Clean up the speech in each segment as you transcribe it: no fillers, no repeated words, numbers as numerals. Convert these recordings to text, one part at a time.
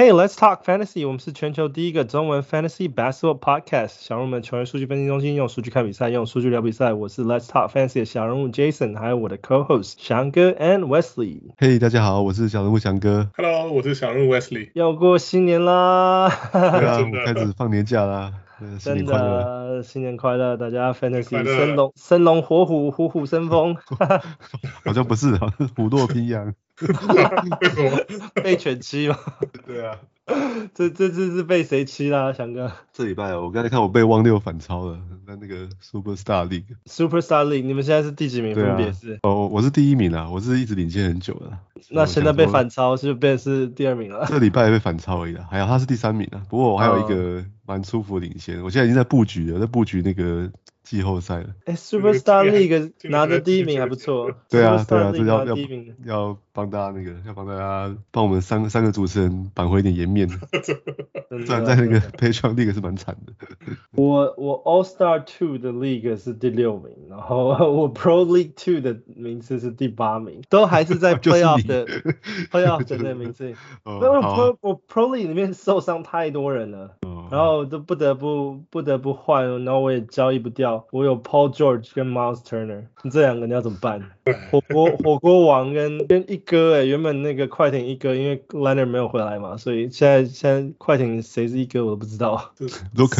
Hey, let's talk fantasy. 我們是全球第一個中文 fantasy basketball podcast。小人物們球員數據分析中心，用數據看比賽，用數據聊比賽。我是 Let's Talk Fantasy 的小人物 Jason， 還有我的 co-host 翔哥 and Wesley。 Hey， 大家好，我是小人物翔哥。 Hello， 我是小人物 Wesley。 要過新年啦！ 對啊，我開始放年假啦。新年快樂！ 新年快樂！大家 fantasy 生龍活虎，虎虎生風。 好像不是，好像虎落平陽。 為什麼？ 被犬欺嗎？ 對啊。 这次是被誰欺啦，翔哥？ 這禮拜我剛才看我被汪六反超了，在那個 Superstar League。Superstar League， 你們現在是第幾名？分別是？ 我是第一名啦，我是一直領先很久的。 那現在被反超就變成是第二名了。 這禮拜被反超而已啦，還有他是第3名啦。不過我還有一個蠻舒服的領先，我現在已經在布局了，在布局那個季後賽了。 Superstar League 拿的第一名還不錯。 對啊，這要幫大家幫我們三個主持人扳回一點顏面。雖然在那個 Patreon League 是蠻慘的。 我 All Star 2的 League 是第6名，然後我 Pro League 2的名次是第8名，都還是在 Playoff 的那名次。因為我 Pro League 裡面受傷太多人了，然後都不得不換，然後我也交易不掉。我有 Paul George 跟 Miles Turner， 這兩個你要怎麼辦？火鍋王跟一哥原本那個快艇一哥，因為 Leonard 沒有回來嘛，所以現在快艇誰是一哥我都不知道。 Luke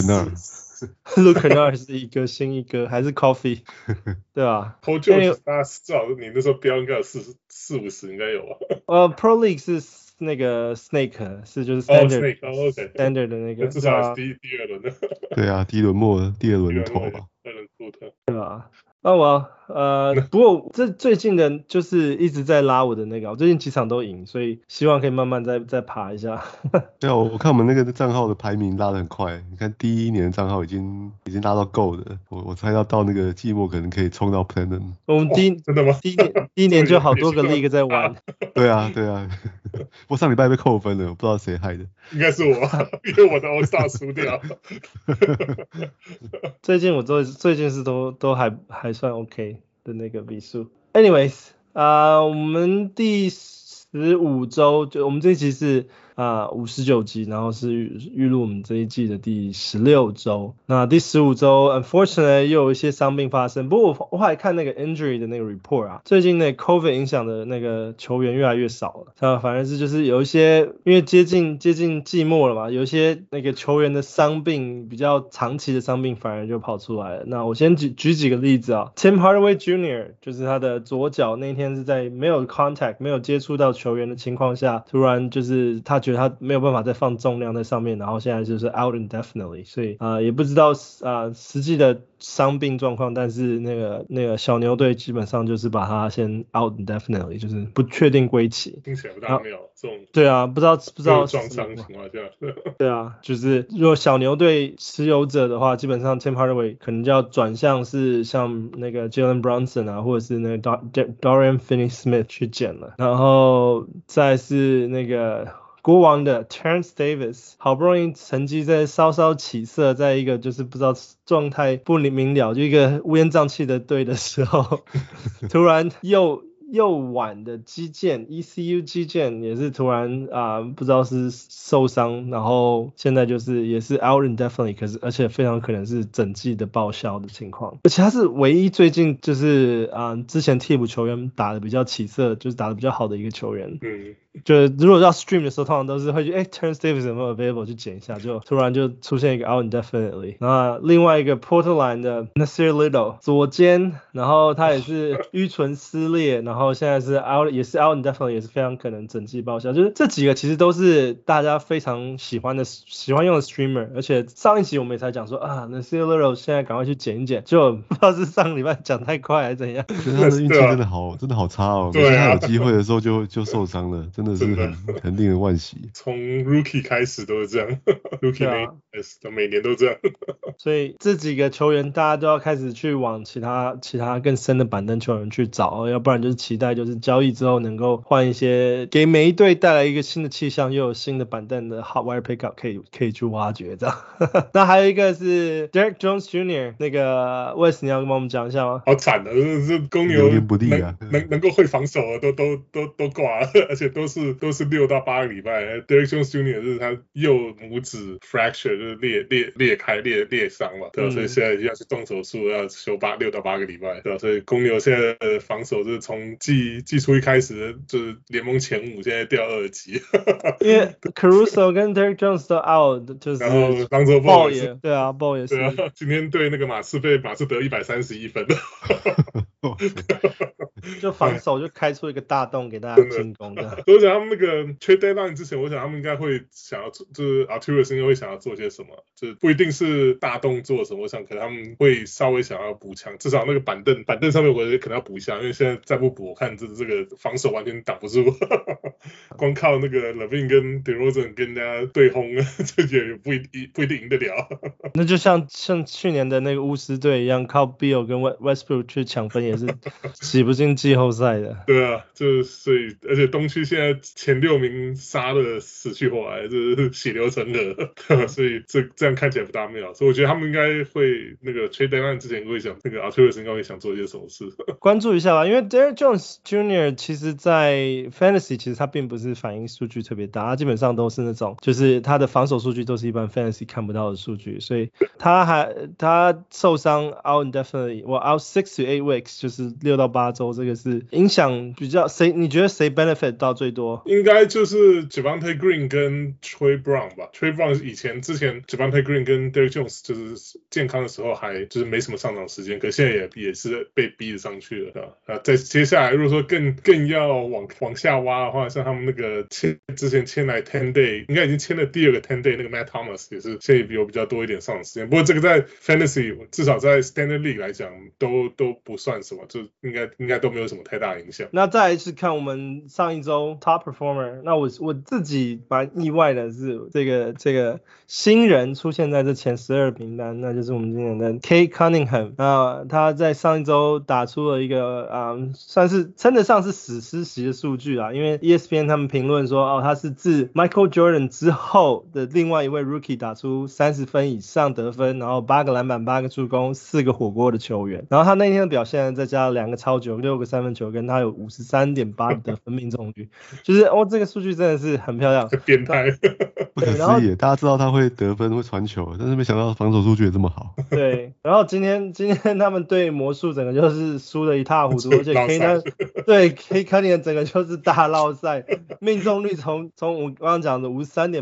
Kennard 是一哥，新一哥還是 Coffee， 對吧 ？Paul George 大家至少你那時候標應該有40-50應該有啊。 Pro League 是那個 Snake 是就是 Standard Standard 的那個， 至少是第二輪的。 對啊，第一輪末第二輪頭吧。 對吧？不過這最近的就是一直在拉我的那個，我最近幾場都贏，所以希望可以慢慢再爬一下。 對啊，我看我們那個賬號的排名拉得很快，你看第一年的賬號已經拉到夠了，我猜到那個季末可能可以衝到 Platinum。 我們真的嗎？第一年就好多個 league 在玩。 對啊，我上禮拜被扣分了，我不知道誰害的。 應該是我，因為我的 All Star 輸掉。 最近是都還算 OK 的那個比數。Anyways， 我們第15週就我們這一集是59集，然後是預錄我們這一季的第16週。那第15週 unfortunately 又有一些傷病發生，不過我還看那個 injury 的那個 report 啊，最近那 COVID 影響的那個球員越來越少了。反而是就是有一些因為接近季末了嘛，有一些那個球員的傷病比較長期的傷病反而就跑出來了。那我先舉幾個例子啊 ，Tim Hardaway Jr. 就是他的左腳那天是在沒有 contact 沒有接觸到球員的情況下，突然就是他覺得他沒有辦法再放重量在上面，然後現在就是 out indefinitely， 所以也不知道實際的傷病狀況，但是那個小牛隊基本上就是把他先 out indefinitely， 就是不確定歸期。 聽起來不大妙，這種對啊，不知道撞傷情況下。 對啊，就是如果小牛隊持有者的話，基本上 Tim Hardaway 可能就要轉向是像那個 Jalen Brunson 啊，或者是那個 Dorian Finney-Smith 去撿了，然後再是那個國王的 Terrence Davis 好不容易成績在稍稍起色，在一個就是不知道狀態不明了，就一個烏煙瘴氣的隊的時候突然右腕的肌腱 ECU 肌腱也是突然不知道是受傷，然後現在就是也是 out indefinitely， 而且非常可能是整季的報銷的情況，而且他是唯一最近就是之前替補球員打得比較起色，就是打得比較好的一個球員。就如果要 stream 的時候，通常都是會去Terrence Davis 有沒有 available 去撿一下，就突然就出現一個 out indefinitely。那另外一個 Portland 的 Nasir Little 左肩，然後他也是痈唇撕裂，然後現在是 out 也是 out indefinitely， 也是非常可能整季報銷。就是這幾個其實都是大家非常喜歡用的 streamer， 而且上一集我們也才講說Nasir Little 現在趕快去撿一撿，就不知道是上禮拜講太快還是怎樣。 他的運氣真的好差哦，每次他有機會的時候就受傷了，真的是很令人惋惜。 從 Rookie 開始都是這樣，Rookie 每年都這樣。 所以這幾個球員大家都要開始去往其他更深的板凳球員去找，要不然就是期待就是交易之後能夠換一些，給每一隊帶來一個新的氣象，又有新的板凳的 hot wire pickup 可以去挖掘這樣。那還有一個是 Derek Jones Jr. 那個 Wes 你要跟我們講一下嗎？ 好慘的，這公牛能夠會防守的都掛了，而且都是6到8個禮拜。Derek Jones Jr. 就是他右拇指 fracture 就是裂開裂傷嘛，对吧？所以現在要去動手術，要休6到8個禮拜，对吧？所以公牛現在的防守就是從季初一開始就是聯盟前5，現在掉2級。 因為 Caruso 跟 Derek Jones 都 out， 就是然後 Lonzo Ball 也對啊 ，Ball 也是。 對啊，今天對那個馬刺得131分。 就防守就開出一個大洞給大家進攻的。 所以我想他們那個 trade deadline 之前，我想他們應該會想要做，就是 Arturas 應該會想要做些什麼，就是不一定是大動作什麼，我想可能他們會稍微想要補強，至少那個板凳上面我覺得可能要補一下，因為現在再不補，我看這個防守完全擋不住，光靠那個 Levine 跟 DeRozan 跟人家對轟，這也不一定贏得了。 那就像去年的那個巫師隊一樣，靠 Beal 跟 Westbrook 去搶分也是擠不進季後賽的。 對啊，就是所以，而且東區現在前6名殺的死去活來，就是血流成河，所以這樣看起來不大妙。所以我覺得他們應該會那個 trade deadline 之前會想，那個 Arturas 應該會想做一些什麼事。 關注一下吧，因為 Derek Jones Jr. 其實在 Fantasy 其實他並不是反映數據特別大，他基本上都是那種就是他的防守數據都是一般 Fantasy 看不到的數據，所以他受傷 out indefinitely， out 6 to 8 weeks， 就是6到8周，這個是影響比較你覺得誰 benefit 到最多？ 應該就是 Javonte Green 跟 Troy Brown 吧。Troy Brown 之前 Javonte Green 跟 Derek Jones 就是健康的時候還就是沒什麼上場時間，可現在也是被逼着上去了啊。在接下來如果說更要往下挖的話，像他們那個之前簽來 10 day， 應該已經簽了第2個10 day， 那個 Matt Thomas 也是現在有比較多一點上場時間。不過這個在 Fantasy 至少在 Standard League 來講都不算什麼，就應該都沒有什麼太大影響。 那再來是看我們上一周 Top Performer， 那我自己蠻意外的是這個新人出現在這前12名單，那就是我們今年的 Cade Cunningham。那他在上一周打出了一個算是稱得上是史詩級的數據啦，因為 ESPN 他們評論說他是自 Michael Jordan 之後的另外一位 Rookie 打出30分以上得分，然後8個籃板8個助攻4個火鍋的球員。然後他那天的表現再加2個超球6個三分球，跟他有53.8% 得分命中率，就是這個數據真的是很漂亮， 變態， 不可思議。大家知道他會得分會傳球，但是沒想到防守數據也這麼好。 對，然後今天他們對魔術整個就是輸得一塌糊塗，而且 Cade Cunningham 整個就是大落賽，命中率從我剛剛講的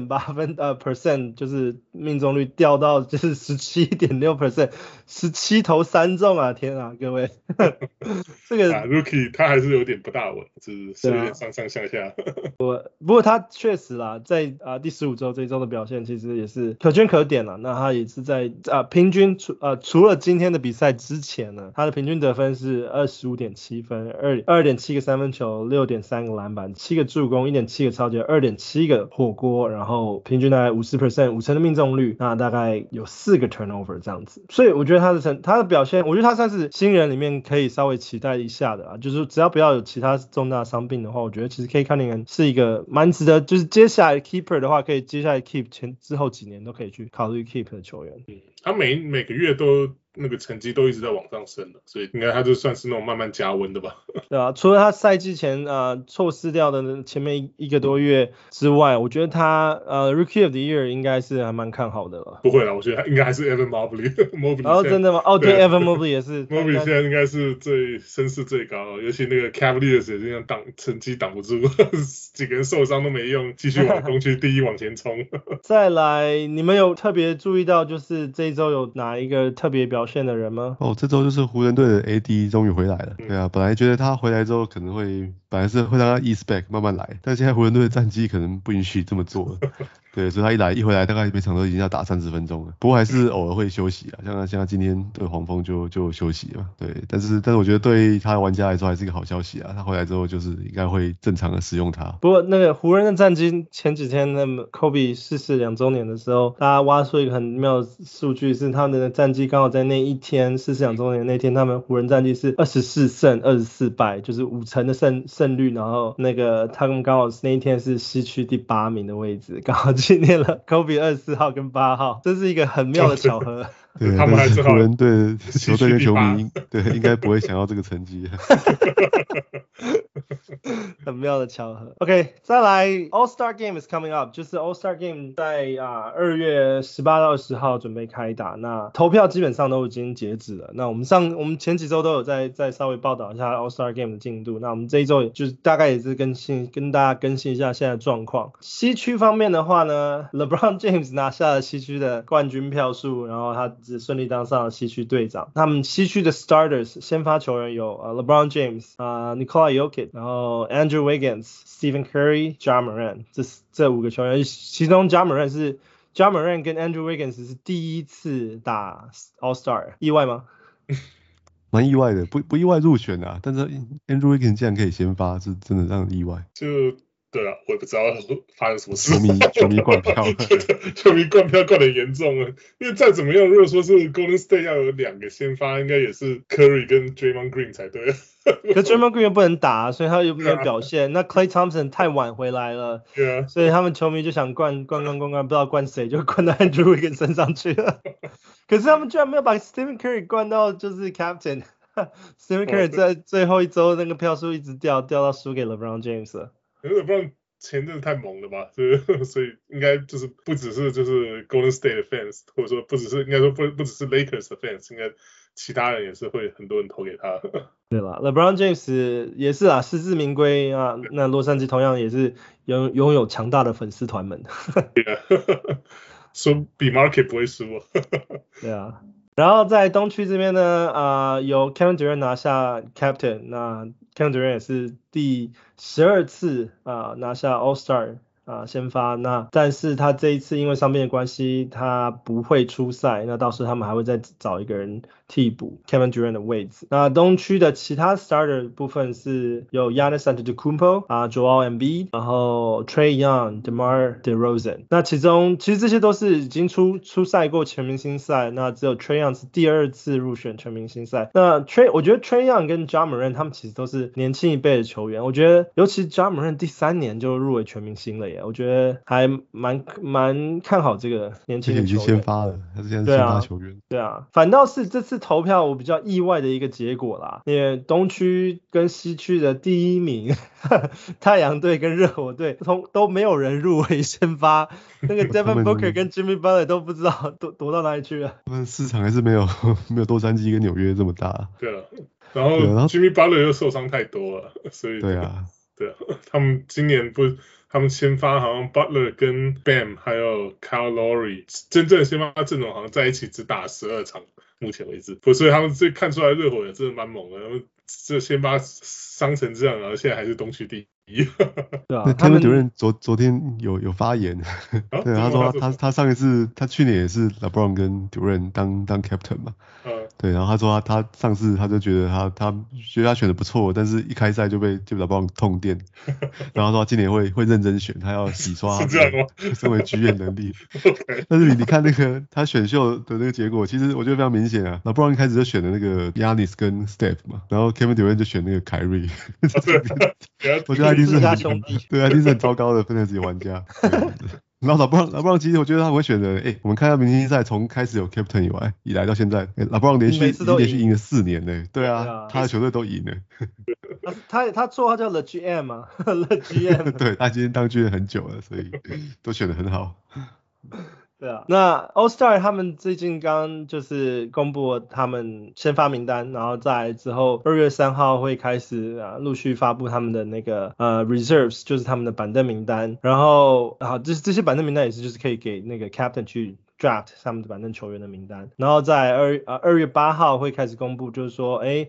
53.8%就是命中率掉到就是 17.6%， 17投3中啊！天啊，各位，這個 Rookie 他還是有點不大穩，就是有點上上下下。 不過他確實啦，在第15周這一周的表現其實也是可圈可點啦。那他也是在平均除了今天的比賽之前呢，他的平均得分是 25.7 分，2.7 個三分球，6.3 個籃板，7個助攻，1.7 個抄截，2.7 個火鍋，然後平均大概 50% 的命中率，那大概有4個 turnover 這樣子。所以我覺得他的表現，我覺得他算是新人裡面可以稍微期待一下的就是只要不要有其他重大傷病的話，我覺得其實 Cade Cunningham 是一個蠻值得，就是接下來 keeper 的話，可以接下來 keep 之後幾年都可以去考慮 keep 的球員。 他每個月都那個成績都一直在往上升的，所以應該他就算是那種慢慢加溫的吧。 對啊，除了他賽季前錯失掉的前面一個多月之外，我覺得他Rookie of the Year 應該是還蠻看好的了。 不會啦，我覺得他應該還是 Evan Mobley。 哦，真的嗎？對 ，Evan Mobley 也是。 Mobley 現在應該是聲勢最高，尤其那個 Cavaliers 也這樣成績擋不住，幾個人受傷都沒用，繼續往東區第一往前衝。 再來，你們有特別注意到就是這一周有哪一個特別表現的人嗎？ 這周就是湖人隊的 AD 終於回來了。對啊，本來覺得他回來之後可能本來是會讓他 ease back 慢慢來，但現在湖人隊的戰績可能不允許這麼做了。 對，所以他一回來大概每場都已經要打30分鐘了，不過還是偶爾會休息啊，像他今天對黃蜂就休息了，對，但是我覺得對他的玩家來說還是一個好消息啊，他回來之後就是應該會正常的使用他。 不過那個湖人的戰績前幾天那麼 Kobe 逝世2週年的時候，大家挖出一個很妙的數據，是他們的戰績剛好在那一天逝世2週年那天，他們湖人戰績是24勝24敗，就是50%的勝率，然後那個他們剛好那一天是西區第8名的位置，剛好紀念了 Kobe 24號跟8號，這是一個很妙的巧合。 對，他们還是湖人隊球队跟球迷对应該不會想要這個成績。 很妙的巧合。OK， 再來 All-Star Game is coming up， 就是 All-Star Game 在2月18到20號準備開打，那投票基本上都已經截止了。那我們前幾周都有再稍微報道一下 All-Star Game 的進度。那我們這一周就是大概也是跟大家更新一下現在的狀況。西區方面的話呢 ，LeBron James 拿下了西區的冠軍票數，然後他只順利當上了西區隊長。他們西區的 Starters 先發球員有LeBron James、Nikola Jokic， 然後 Andrew Wiggins、Stephen Curry、Ja Morant， 這5個球員，其中 Ja Morant 跟 Andrew Wiggins 是第一次打 All-Star， 意外嗎？ 蠻意外的，不意外入選啊，但是 Andrew Wiggins 竟然可以先發，是真的讓人意外。 對啊，我也不知道發生什麼事。 球迷灌票， 球迷灌票灌得嚴重了。因為再怎麼樣，如果說是 Golden State 要有2個先發，應該也是 Curry 跟 Draymond Green 才對。 可 Draymond Green 又不能打，所以他又沒有表現。那 Klay Thompson 太晚回來了，所以他们球迷就想灌，不知道灌誰，就灌到 Andrew Wiggins 身上去了。可是他們居然沒有把 Stephen Curry 灌到就是 Captain。Stephen Curry 在最後一周那個票數一直掉到輸給 LeBron James 了。 LeBron 前陣太猛了吧，所以應該就是不只是就是 Golden State 的 fans， 或者說不只是應該說不只是 Lakers 的 fans， 應該其他人也是會很多人投給他。 對了 ，LeBron James 也是啊，實至名歸啊。那洛杉磯同樣也是擁有強大的粉絲團們。 說比 Market 不會輸啊。 對啊。然後在東區這邊呢，有 Kevin Durant 拿下 Captain， 那 Kevin Durant 也是第12次拿下 All-Star 先發，那但是他這一次因為傷病的關係，他不會出賽，那到時候他們還會再找一個人替補 Kevin Durant 的位置。那東區的其他 starter 部分是有 Giannis Antetokounmpo、Joel Embiid， 然後 Trae Young、DeMar DeRozan。那其實這些都是已經出賽過全明星賽，那只有 Trae Young 是第2次入選全明星賽。那我覺得 Trae Young 跟 Ja Morant 他們其實都是年輕一輩的球員，我覺得尤其 Ja Morant 第3年就入圍全明星了耶，我覺得還蠻看好這個年輕的球員。已經先發了，他是現在先發球員。 對啊，反倒是這次投票我比較意外的一個結果啦，因為東區跟西區的第1名太陽隊跟熱火隊都沒有人入圍先發，那個 Devin Booker 跟 Jimmy Butler 都不知道躲到哪裡去了。 他們市場還是沒有洛杉磯跟紐約這麼大。 對啊，然後 Jimmy Butler 又受傷太多了，所以對啊，他們今年他們先發好像 Butler 跟 Bam 還有 Kyle Lowry 真正的先發陣容好像在一起只打12場，目前為止。所以他們這看出來熱火也真的蠻猛的，他們這先發傷成這樣，然後現在還是東區第一。 對啊，他們主任昨天有發言，對，他說他上一次他去年也是 LeBron 跟 Durant 當 Captain 嘛，对，然後他說他上次他就覺得他覺得他選的不錯，但是一開賽就被LeBron 痛電，然後他說他今年會認真選，他要洗刷他身為 GM 能力。但是你看那個他選秀的那個結果，其實我覺得非常明顯啊，LeBron 一開始就選了那個 Giannis 跟 Steph 嘛，然後 Kevin Durant 就選那個 Kyrie， 我覺得他一定是對啊，一定是很糟糕的 Fantasy 玩家。然後LeBron 其實我覺得他會選的，我們看到明星賽從開始有 Captain 以來到現在，LeBron 連續贏了4年呢。對啊，他的球隊都贏了。 他綽號叫 The GM 嘛，The GM。 對，他今天當GM很久了，所以都選得很好。 对啊，那 All-Star 他們最近剛就是公布了他們先發名單，然後在之後2月3號會開始陸續發布他們的那個Reserves， 就是他們的板凳名單。然後這些板凳名單也是就是可以給那個 Captain 去 draft 他們的板凳球員的名單。然後在2月8號會開始公布，就是說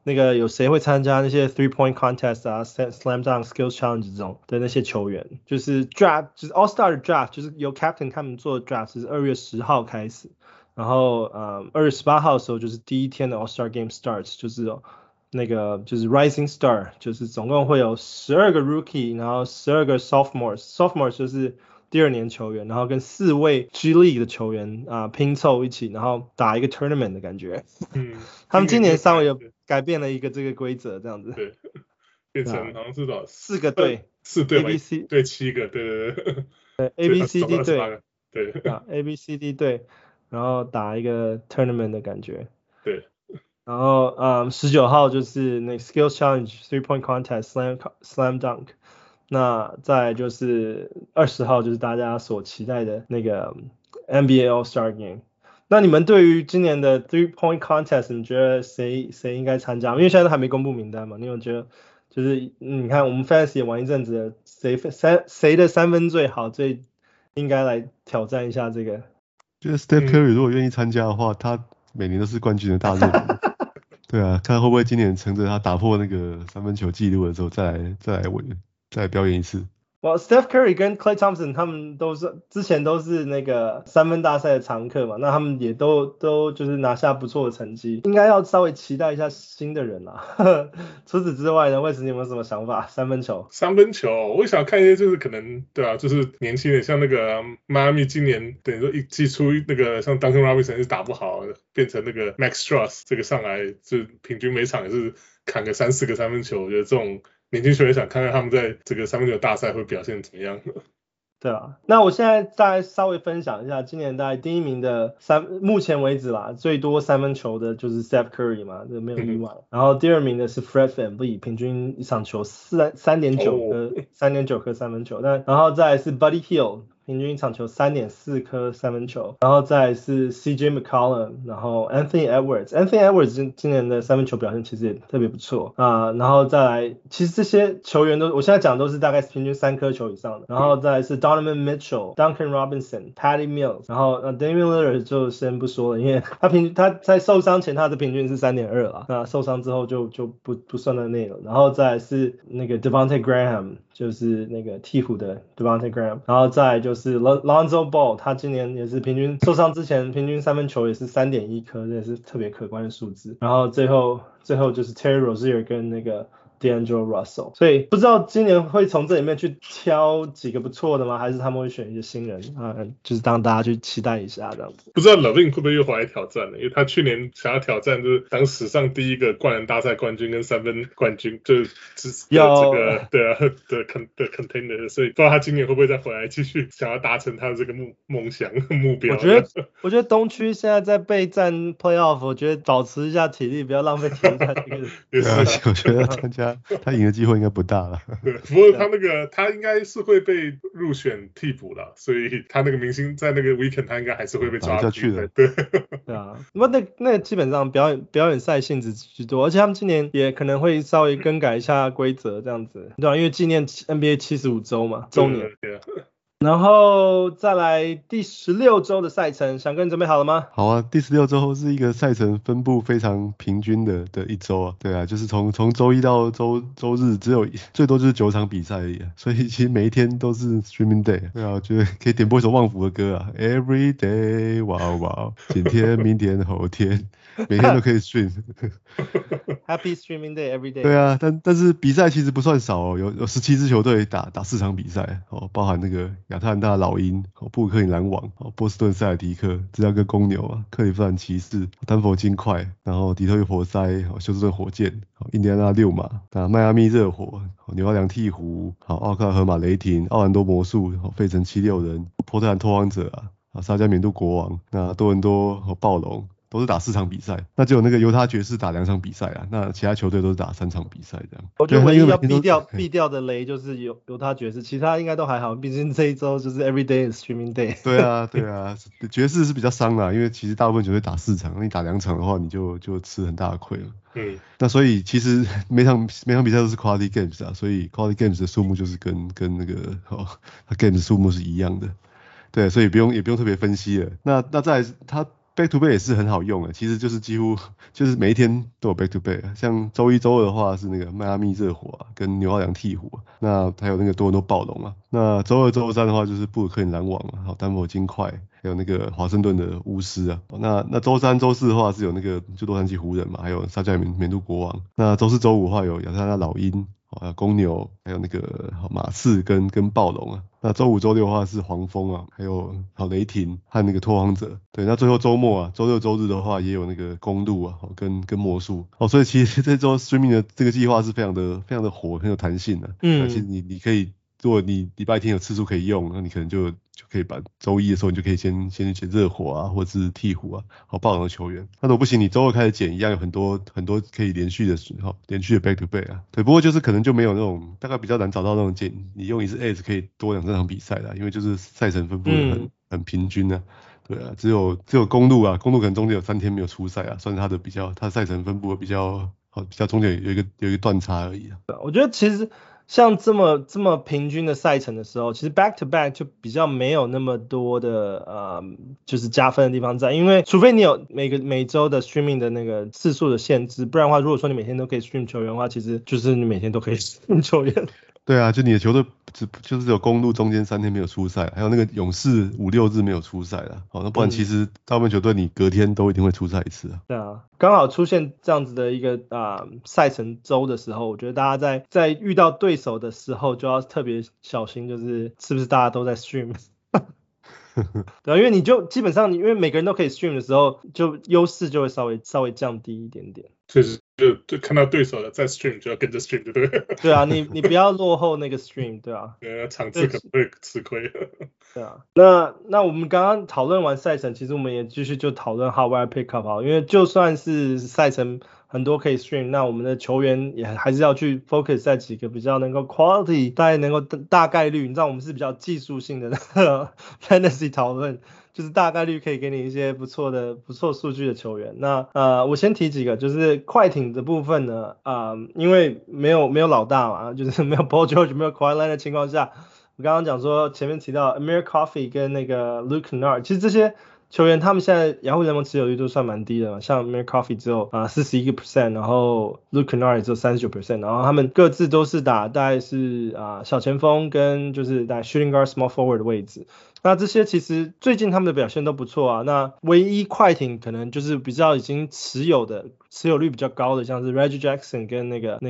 那個有誰會參加那些 3-point contest 啊 slam dunk skills challenge 這種的那些球員，就是 draft 就是 all star 的 draft 就是由 captain 他們做的 draft 是2月10號開始，然後2月18號的時候就是第一天的 all star game starts， 就是那個就是 rising star， 就是總共會有12個 rookie， 然後12個 sophomores 就是第二年球員，然後跟4位 G League 的球員拼湊一起，然後打一個 tournament 的感覺。他們今年稍微有改變了一個這個規則，這樣子。 對，變成好像是多少 ？4個隊 ，4隊 ABC 對7個，对。 A B C D 隊， 對 ，A B C D 隊，然後打一個 tournament 的感覺。 对。 然後19號就是那個 skills challenge 3-point contest slam dunk。那再來就是20號就是大家所期待的那個 NBA All Star Game。那你們對於今年的 3-point contest， 你覺得誰應該參加？因為現在都還沒公布名單嘛，你有覺得就是你看我們 Fantasy 也玩一陣子了，誰的三分最好，最應該來挑戰一下這個？ 覺得 Steph Curry 如果願意參加的話，他每年都是冠軍的大熱門。對啊，看會不會今年乘着他打破那個三分球紀錄的時候再來表演一次。 Steph Curry 跟 Klay Thompson 他們之前都是那個三分大賽的常客嘛，那他們也都就是拿下不錯的成績，應該要稍微期待一下新的人啦。除此之外呢，魏斯你有沒有什麼想法？三分球， 我想看一些就是可能对啊，就是年輕人，像那個邁阿密今年等於說一季出那個像 Duncan Robinson 是打不好，變成那個 Max Strus 這個上來就平均每場也是砍個3-4個三分球，我覺得這種年輕球員想看看他們在這個三分球大賽會表現怎麼樣。 對啊，那我現在大概稍微分享一下，今年大概第一名的目前為止啦，最多三分球的就是 Steph Curry 嘛，這沒有意外。然後第二名的是 Fred VanVleet，平均一場球3.9顆三分球，然後再來是 Buddy Hield，平均一場球3.4顆三分球，然後再來是 CJ McCollum， 然後 Anthony Edwards 今年的三分球表現其實也特別不錯然後再來，其實這些球員我現在講都是大概平均3顆球以上的，然後再來是 Donovan Mitchell、Duncan Robinson、Patty Mills， 然後Damian Lillard 就先不說了，因為他在受傷前他的平均是 3.2 啦，那受傷之後就不算在內了，然後再來是那個 Devontae Graham， 就是那個鹈鶘的 Devontae Graham， 然後再來就是 Lonzo Ball， 他今年也是平均受傷之前平均三分球也是 3.1 顆，這也是特別可觀的數字，然後最後就是 Terry Rozier 跟那個D'Angelo Russell， 所以不知道今年會從這裡面去挑幾個不錯的嗎？還是他們會選一些新人就是讓大家去期待一下這樣子。 不知道 LaVine 會不會又回來挑戰呢？因為他去年想要挑戰就是當史上第一個灌籃大賽冠軍跟三分冠軍，就是這個對啊的 contender， 所以不知道他今年會不會再回來繼續想要達成他的這個夢想目標。 我覺得東區現在在備戰 playoff， 我覺得保持一下體力，不要浪費體力在這個。 我覺得參加。他贏的機會應該不大了。 對，不過他應該是會被入選替補了，所以他那個明星在那個 weekend 他應該還是會被抓下去的。 對啊，那基本上表演賽性質居多，而且他們今年也可能會稍微更改一下規則這樣子，對吧？因為紀念 NBA 75週嘛，週年。對。然後再來第16週的賽程，翔哥你準備好了嗎？ 好啊，第16週是一個賽程分布非常平均的一週啊。對啊，就是從週一到週日只有最多就是9場比賽而已啊，所以其實每一天都是 streaming day。對啊，我覺得可以點播一首旺福的歌啊 ，Every day， 哇哇，今天、明天、後天，每天都可以 stream。 Happy streaming day every day。 对啊，但是比賽其實不算少哦，有17支球隊打4場比賽哦，包含那個亞特蘭大老鷹、布魯克林籃網、波士頓塞爾提克、芝加哥公牛啊、克利夫蘭騎士、丹佛金塊，然後底特律活塞、休斯頓火箭、印第安納溜馬、邁阿密熱火、紐奧良鵜鶘、奧克拉荷馬雷霆、奧蘭多魔術、費城76人、波特蘭拓荒者沙加緬度國王、那多倫多暴龍。都是打4場比賽，那只有那個猶他爵士打2場比賽啊，那其他球隊都是打3場比賽這樣。 我覺得唯一要避掉的雷就是猶他爵士，其他應該都還好，畢竟這一周就是 every day is streaming day。對啊， 爵士是比較傷啦，因為其實大部分球隊打4場，你打2場的話，你就吃很大的虧了。那所以其實每場比賽都是 quality games 啊，所以 quality games 的數目就是跟那個games 數目是一樣的。對，所以也不用特別分析了。那再來他 back to back 也是很好用的，其實就是幾乎就是每一天都有 back to back， 像周一周二的話是那個邁阿密熱火跟紐奧良鵜鶘，那還有那個多倫多暴龍那周二周三的話就是布魯克林籃網還有丹佛金塊，還有那個華盛頓的巫師那周三周四的話是有那個就洛杉磯湖人嘛，還有沙加緬度國王，那周四周五的話有亞特蘭大老鷹。還有公牛，還有那個馬刺跟暴龍那周五周六的話是黃蜂還有雷霆和那個拓荒者。對，那最後周末周六周日的話也有那個公鹿跟魔術所以其實這周 streaming 的這個計劃是非常的火，很有彈性其實你可以，如果你禮拜天有次數可以用，那你可能就可以把周一的時候你就可以先去撿熱火或者是鵜鶘暴龍的球員。那如果不行，你周二開始撿一樣有很多可以連續的back to back對，不過就是可能就沒有那種大概比較難找到那種你用一次 Ace 可以多2場比賽因為就是賽程分布的很平均对只有公鹿可能中间有3天沒有出賽算是它賽程分布的比較中間有一個斷差而已我覺得其實像這麼平均的賽程的時候，其實 back to back 就比較沒有那麼多的就是加分的地方在，因为除非你有每周的 streaming 的那個次數的限制，不然的話如果說你每天都可以 stream 球員的話，其實就是你每天都可以 stream 球員。 对啊，就你的球队就是有公鹿中間3天沒有出賽，還有那個勇士5、6日沒有出賽那不然其實大部分球隊你隔天都一定會出賽一次對啊，剛好出現這樣子的一個賽程周的時候，我覺得大家在遇到對手的時候就要特別小心，就是是不是大家都在 stream。对啊，因為你就基本上因為每個人都可以 stream 的時候，就優勢就會稍微降低一點點。 確實就看到對手的在 stream 就要跟着 stream 對不對？ 對啊，你不要落後那個 stream 對啊， 場次可能會吃虧。 對啊，那我們剛剛討論完賽程，其實我們也繼續就討論 hot wire pickup 因為就算是賽程很多可以 stream， 那我們的球員也還是要去 focus 在幾個比較能夠 quality， 大概能夠大概率，你知道我們是比較技術性的fantasy 討論，就是大概率可以給你一些不錯數據的球員。那我先提幾個，就是快艇的部分呢，因為沒有老大嘛，就是沒有 Paul George 沒有 Kawhi Leonard 的情況下，我剛剛講說前面提到 Amir Coffey 跟那個 Luke Kennard， 其實這些球員他們現在雅虎聯盟持有率都算蠻低的嘛，像 Amir Coffey 只有41%，然後 Luke Kennard 也只有39%，然後他們各自都是打大概是小前鋒跟就是在 shooting guard small forward 的位置。那這些其實最近他們的表現都不錯那唯一快艇可能就是比較已經持有率比較高的，像是 Reggie Jackson 跟那個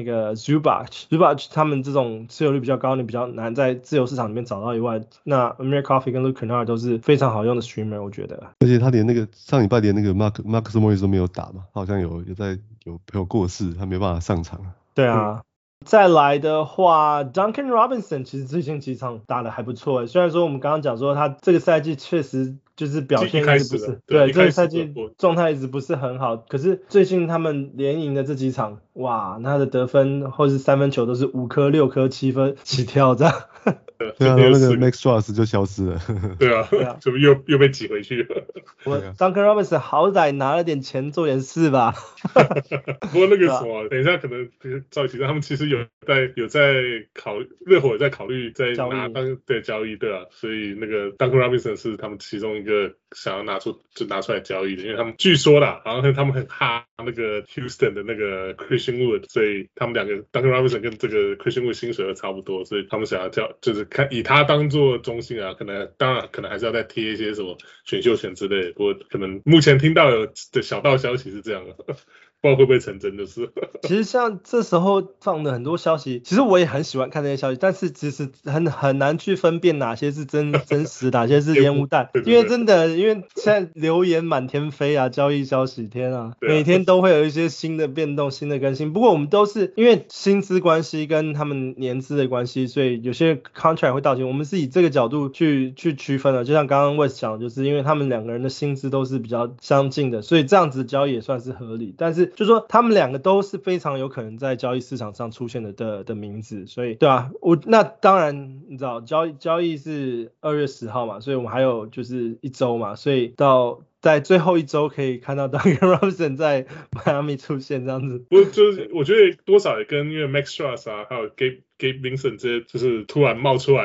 Zubac 他們這種持有率比較高，你比較難在自由市場裡面找到以外，那 Amir Coffey 跟 Luke Kennard 都是非常好用的 streamer 我覺得。 而且他連那個上禮拜連那個 Marcus Morris 都沒有打嘛，他好像有朋友過世，他沒辦法上場。 對啊。再來的話 Duncan Robinson 其實最近幾場打得還不錯雖然說我們剛剛講說他這個賽季確實就是表現一直不是對這個賽季狀態一直不是很好，可是最近他們連贏的這幾場哇，他的得分或是三分球都是5顆6顆7分起跳這樣。 對啊，那個 Max Strus 就消失了。 對啊，怎麼又被擠回去了？ 我 Duncan Robinson 好歹拿了點錢做點事吧。 不過那個什麼，等一下可能趙宇提到他們其實有在考慮，熱火也在考慮在拿交易對啊，所以那個 Duncan Robinson 是他們其中一個想要拿出來交易的，因為他們據說啦，好像他們很哈那個 Houston 的那個 Christian Wood， 所以他們兩個 Duncan Robinson 跟這個 Christian Wood 薪水都差不多，所以他們想要就是看以他當做中心當然可能還是要再貼一些什麼選秀權之類的，不過可能目前聽到有的小道消息是這樣的。不知道會不會成真的是。 其實像這時候放的很多消息，其實我也很喜歡看這些消息，但是其實很難去分辨哪些是真實，哪些是煙霧彈。因為真的，因為現在流言滿天飛啊，交易消息天啊，每天都會有一些新的變動、新的更新。不過我們都是因為薪資關係跟他們年資的關係，所以有些 contract 會到期。我們是以這個角度去區分的。就像剛剛 Wes 講的，就是因為他們兩個人的薪資都是比較相近的，所以這樣子交易也算是合理。但是就是說他們兩個都是非常有可能在交易市場上出現的名字，所以對啊，那當然你知道交易是2月10號嘛，所以我們還有就是1周嘛，所以在最後1周可以看到 Duncan Robinson 在邁阿密出現這樣子。 不就是我覺得多少也跟因為 Max Strus 還有Gabe Vincent 這些就是突然冒出來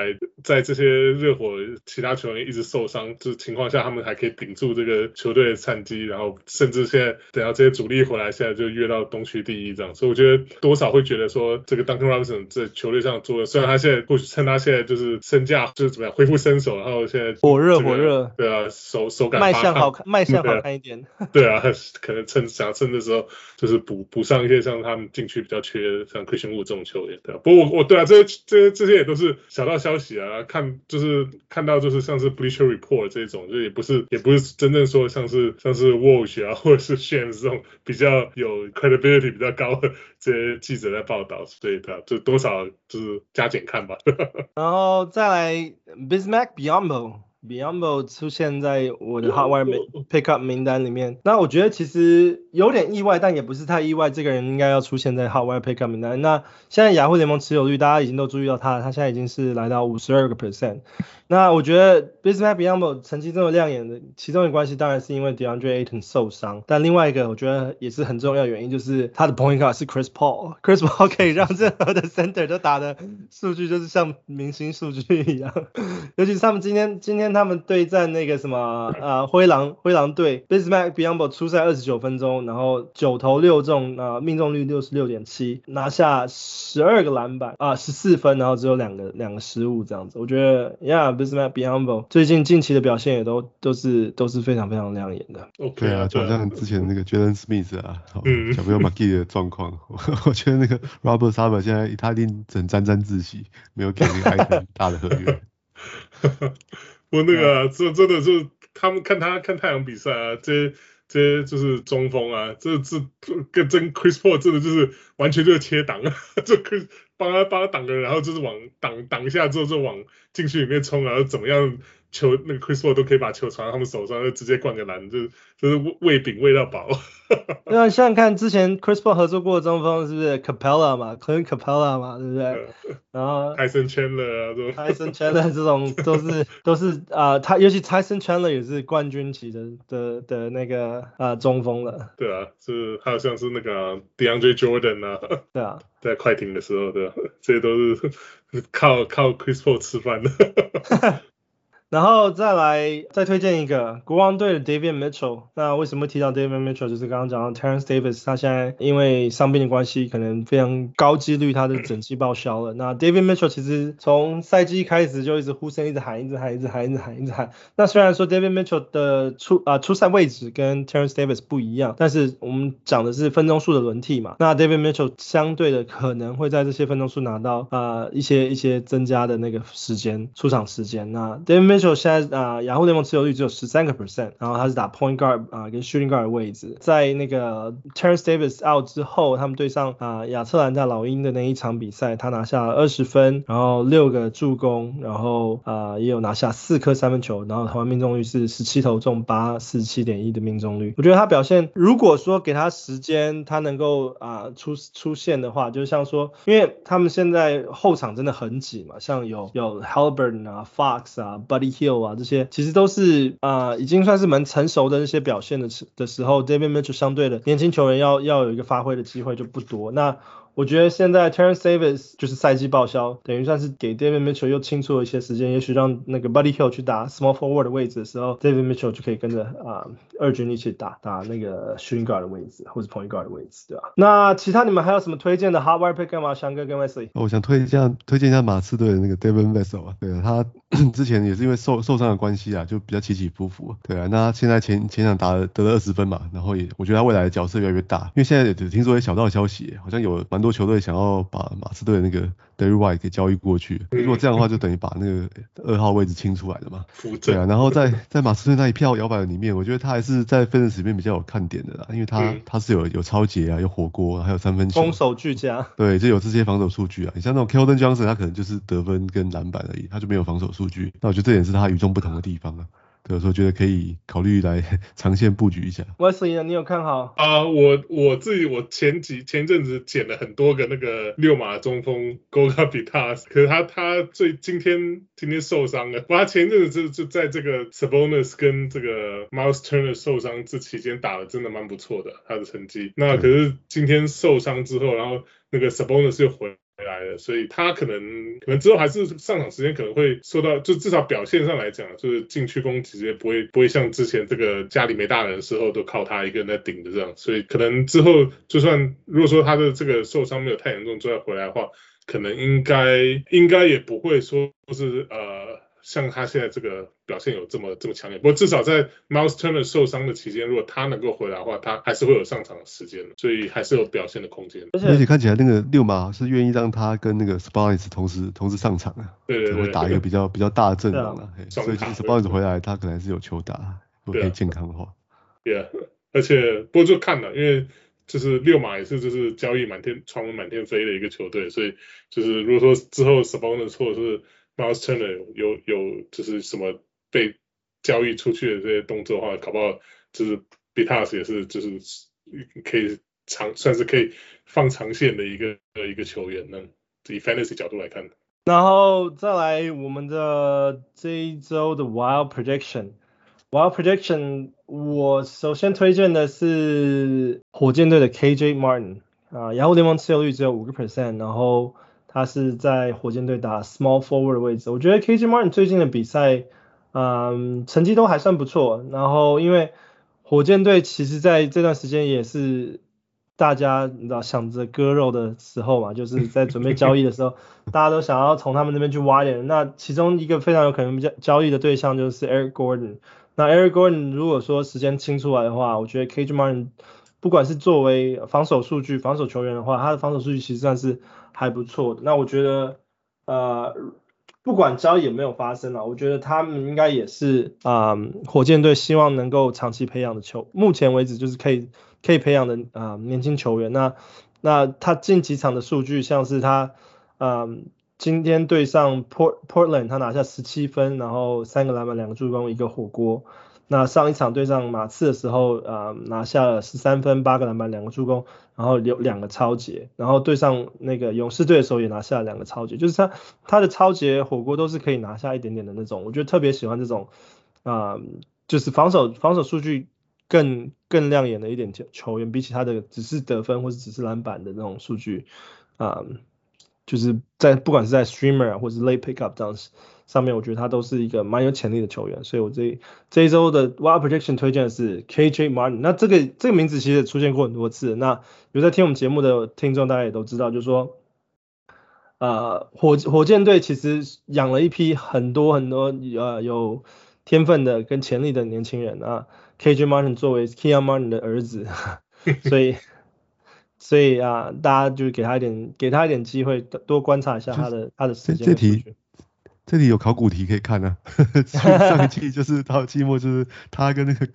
在這些熱火其他球員一直受傷的情況下，他們還可以頂住這個球隊的戰績，然後甚至現在等到這些主力回來，現在就躍到東區第一這樣。所以我覺得多少會覺得說，這個 Duncan Robinson 在球隊上做的，雖然他現在或許趁他現在就是身價就是怎麼樣恢復身手，然後現在火熱， 對啊，手感賣相好看一點， 對啊，可能想趁的時候就是補上一些像他們禁區比較缺像 Christian Wood 這種球員，對啊。不過我對啊，這些也都是小道消息啊，看到就是像是 Bleacher Report 這種，就也不是真正說像是 Woj 啊或者是 Shams 這種比較有 credibility 比較高的這些記者在報道，所以對啊，就多少就是加減看吧。 然後再來 Bismack Biyombo 出現在我的 Hotwire Pickup 名單裡面，那我覺得其實有點意外，但也不是太意外，這個人應該要出現在 Hotwire Pickup 名單。那現在雅虎聯盟持有率大家已經都注意到他現在已經是來到 52%。那我覺得 Bismack Biyombo 成績這麼亮眼的其中一個關係當然是因為 DeAndre Ayton 受傷，但另外一個我覺得也是很重要的原因就是他的 point guard 是 Chris Paul 可以讓任何的 center 都打的數據就是像明星數據一樣，尤其是他們今天他們對戰那個什麼灰狼隊 Bismack Biyombo 出賽29分鐘，然後9投6中命中率 66.7%， 拿下12個籃板14分，然後只有兩個失誤這樣子。我覺得Bismack Biyombo 最近近期的表現也都是非常非常亮眼的。 對啊，就好像之前那個 Jalen Smith 啊，小朋友 McGee 的狀況，我覺得那個 Robert Sarver 現在他一定很沾自喜，沒有給那個艾頓大的合約。 我那個真的就是他們看太陽比賽啊，這些就是中鋒啊，這跟Chris Paul 真的就是完全就是切擋啊，就幫他擋人，然後就是往擋一下之後就往禁區裡面衝，然後怎麼樣球那個 Chris Paul 都可以把球傳到他們手上，就直接灌個籃，就是餵餅餵到飽。 對啊，像看之前 Chris Paul 合作過的中鋒是不是 Capella 嘛 Clint Capella 嘛，對不對？然後 Tyson Chandler 啊， Tyson Chandler 這種都是他尤其 Tyson Chandler 也是冠軍級的那個中鋒了。對啊， 是還有像是那個 DeAndre Jordan 啊， 对啊， 在快艇的時候，对啊，這些都是靠 Chris Paul 吃飯的。 然後再推薦一個國王隊的 Davion Mitchell。那為什麼提到 Davion Mitchell？ 就是剛剛講到 Terence Davis， 他現在因為傷病的關係，可能非常高幾率他的整季報銷了。那 Davion Mitchell 其實從賽季開始就一直呼聲一直喊。那雖然說 Davion Mitchell 的出賽位置跟 Terence Davis 不一樣，但是我們講的是分鐘數的輪替嘛。那 Davion Mitchell 相對的可能會在這些分鐘數拿到一些增加的那個出場時間。那 Davion Mitchell現在雅虎聯盟持有率只有 13%， 然後他是打 point guard 跟 shooting guard 的位置。在那個 Terence Davis out 之後，他們對上亞特蘭大老鷹的那一場比賽，他拿下了20分，然後6個助攻，然後也有拿下4顆三分球，然後投籃命中率是17投中8 47.1% 的命中率。我覺得他表現，如果說給他時間，他能夠出現的話，就像說，因為他們現在後場真的很擠嘛，像有 Halliburton Fox Buddy Hield 這些其實都是已經算是蠻成熟的那些表現的時候 Davion Mitchell 相對的年輕球員要有一個發揮的機會就不多。那我覺得現在 Terence Davis 就是賽季報銷，等於算是給 Davion Mitchell 又清出了一些時間，也許讓那個 Buddy Hield 去打 small forward 的位置的時候 Davion Mitchell 就可以跟着二軍一起打那個 shooting guard 的位置或者 point guard 的位置，對吧？那其他你們還有什麼推薦的 Hotwire Pick 嗎？翔哥跟 Wesley？ 我想推薦一下馬刺隊的那個 Devin Vassell 啊，對啊，他之前也是因為受傷的關係啊，就比較起起伏伏，對啊，那他現在前場得了20分嘛，然後我覺得他未來的角色越來越大，因為現在也聽說一些小道消息，好像有蠻多球隊想要把馬刺队的那個 Derrick White 給交易過去，如果這樣的話就等於把那個2號位置清出來了嘛，對啊，然後在馬刺隊那一票搖擺人裡面，我覺得他還是在 Fantasy 裡面比較有看點的啦，因為他是有抄截啊，有火鍋，還有三分球， 攻守俱佳， 對，就有這些防守數據啊。你像那種 Keldon Johnson， 他可能就是得分跟籃板而已，他就沒有防守數據。那我覺得這也是他與眾不同的地方啊。對，所以我覺得可以考慮來長線布局一下。 Wesley 呢？你有看好？ 我自己前陣子撿了很多個那個六碼中鋒 Goga Bitadze， 可是他今天受傷了。他前陣子就在這個 Sabonis 跟這個 Miles Turner 受傷這期間打得真的蠻不錯的，他的成績。那可是今天受傷之後，然後那個 Sabonis 又回來了，所以他可能之後還是上場時間可能會受到，就至少表現上來講，就是禁區攻擊也不會像之前這個家裡沒大人的時候都靠他一個人在頂着這樣，所以可能之後就算如果說他的這個受傷沒有太嚴重，之後回來的話，可能應該也不會說是像他現在這個表現有這麼強烈，不過至少在 Miles Turner 受傷的期間，如果他能夠回來的話，他還是會有上場的時間，所以還是有表現的空間。 而且看起來那個六馬是願意讓他跟那個 Sabonis 同時上場啊， 对， 会打一个比较大的陣容啊，所以其實 Sabonis 回來他可能還是有球打，如果可以健康的話。 對啊，而且不過就看了，因為就是六馬也是就是交易傳聞滿天飛的一個球隊，所以就是如果說之後 Sabonis 或者是Miles Turner 有就是什麼被交易出去的這些動作的話，搞不好就是 Bitas 也是就是可以算是可以放長線的一個球員呢，以 Fantasy 角度來看。 然後再來我們的這一周的 Wild Prediction， 我首先推薦的是火箭隊的 KJ Martin 雅虎聯盟持有率只有 5%， 然後他是在火箭隊打 small forward 的位置，我覺得 KJ Martin 最近的比賽，成績都還算不錯。然後因為火箭隊其實在這段時間也是大家你知道想着割肉的時候嘛，就是在準備交易的時候，大家都想要從他們那邊去挖點。那其中一個非常有可能交易的對象就是 Eric Gordon。那 Eric Gordon 如果說時間清出來的話，我覺得 KJ Martin 不管是作為防守數據、防守球員的話，他的防守數據其實算是還不錯的。那我覺得不管交易有沒有發生啊，我覺得他們應該也是火箭隊希望能夠長期培養的目前為止就是可以培養的年輕球員。那他近幾場的數據像是他今天對上 Portland 他拿下17分，然後3個籃板2個助攻1個火鍋。那上一場對上馬刺的時候拿下了13分8個籃板2個助攻，然後有2個抄截，然後對上那個勇士隊的時候也拿下了2個抄截，就是他的抄截火鍋都是可以拿下一點點的那種，我覺得特別喜歡這種就是防守數據更亮眼的一點球員，比起他的只是得分或者只是籃板的那種數據就是不管是在 streamer 或者是 late pickup 這樣上面，我覺得他都是一個蠻有潛力的球員，所以我這一周的 Wild Prediction 推薦的是 KJ Martin。那這個名字其實也出現過很多次，那有在聽我們節目的聽眾大家也都知道，就是說火箭隊其實養了一批很多有天分的跟潛力的年輕人啊，KJ Martin 作為 Keon Martin 的兒子，所以大家就給他一點機會，多觀察一下他的時間的數據。 這題有考古題可以看啊，上一季就是到季末就是他跟那個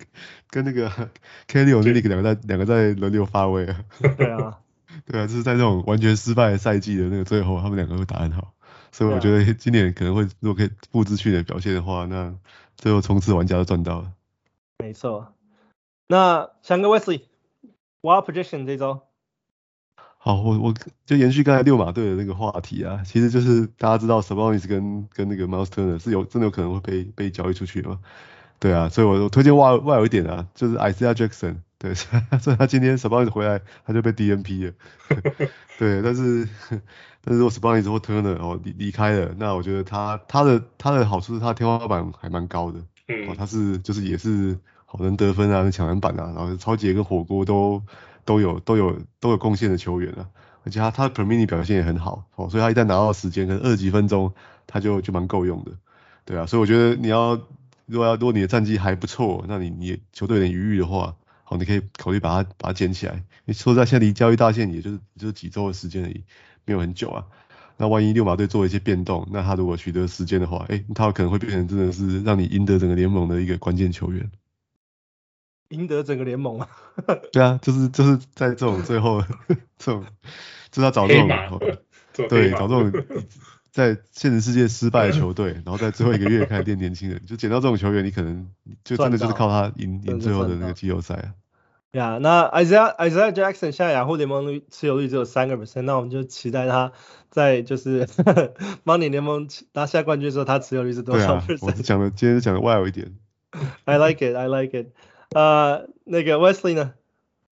Kelly Olynyk 兩個在輪流發威啊。 對啊， 就是在這種完全失敗的賽季的那個最後，他們兩個會打很好，所以我覺得今年可能會如果可以複製去年的表現的話，那最後衝刺玩家都賺到了。 沒錯，那翔哥 Wesley Wild Prediction 這週。 好，我就延續剛才六馬隊的那個話題啊，其實就是大家知道 Sabonis 跟那個 Miles Turner 是真的有可能會被交易出去的嘛，對啊，所以我推薦外有一點啊，就是 Isaiah Jackson， 對，所以他今天 Sabonis 回來他就被 DNP 了，對，但是如果 Sabonis 或 Turner 離開了，那我覺得他的好處是他的天花板還蠻高的，他是就是也是好能得分啊，能搶籃板啊，然後抄截跟火鍋都有貢獻的球員啊，而且他的 per minute 表現也很好，所以他一旦拿到時間，可能20幾分鐘他就蠻夠用的，對啊，所以我覺得如果你的戰績還不錯，那你球隊有點餘裕的話，好，你可以考慮把它撿起來。你說實在現在離交易大限也就是幾週的時間而已，沒有很久啊。那萬一六馬隊做一些變動，那他如果取得時間的話，他有可能會變成真的是讓你贏得整個聯盟的一個關鍵球員。 贏得整個聯盟啊！ 對啊，就是在這種最後這種，就是要找這種對，找這種在現實世界失敗的球隊，然後在最後一個月開始練年輕人，就撿到這種球員，你可能就真的就是靠他贏最後的那個季後賽啊。 呀，那 Isaiah Jackson 現在雅虎聯盟持有率只有3%，那我們就期待他在就是Money 聯盟拿下冠軍的時候，他持有率是多少%？對啊， 我今天講的外有一點。 I like it。那個 Wesley 呢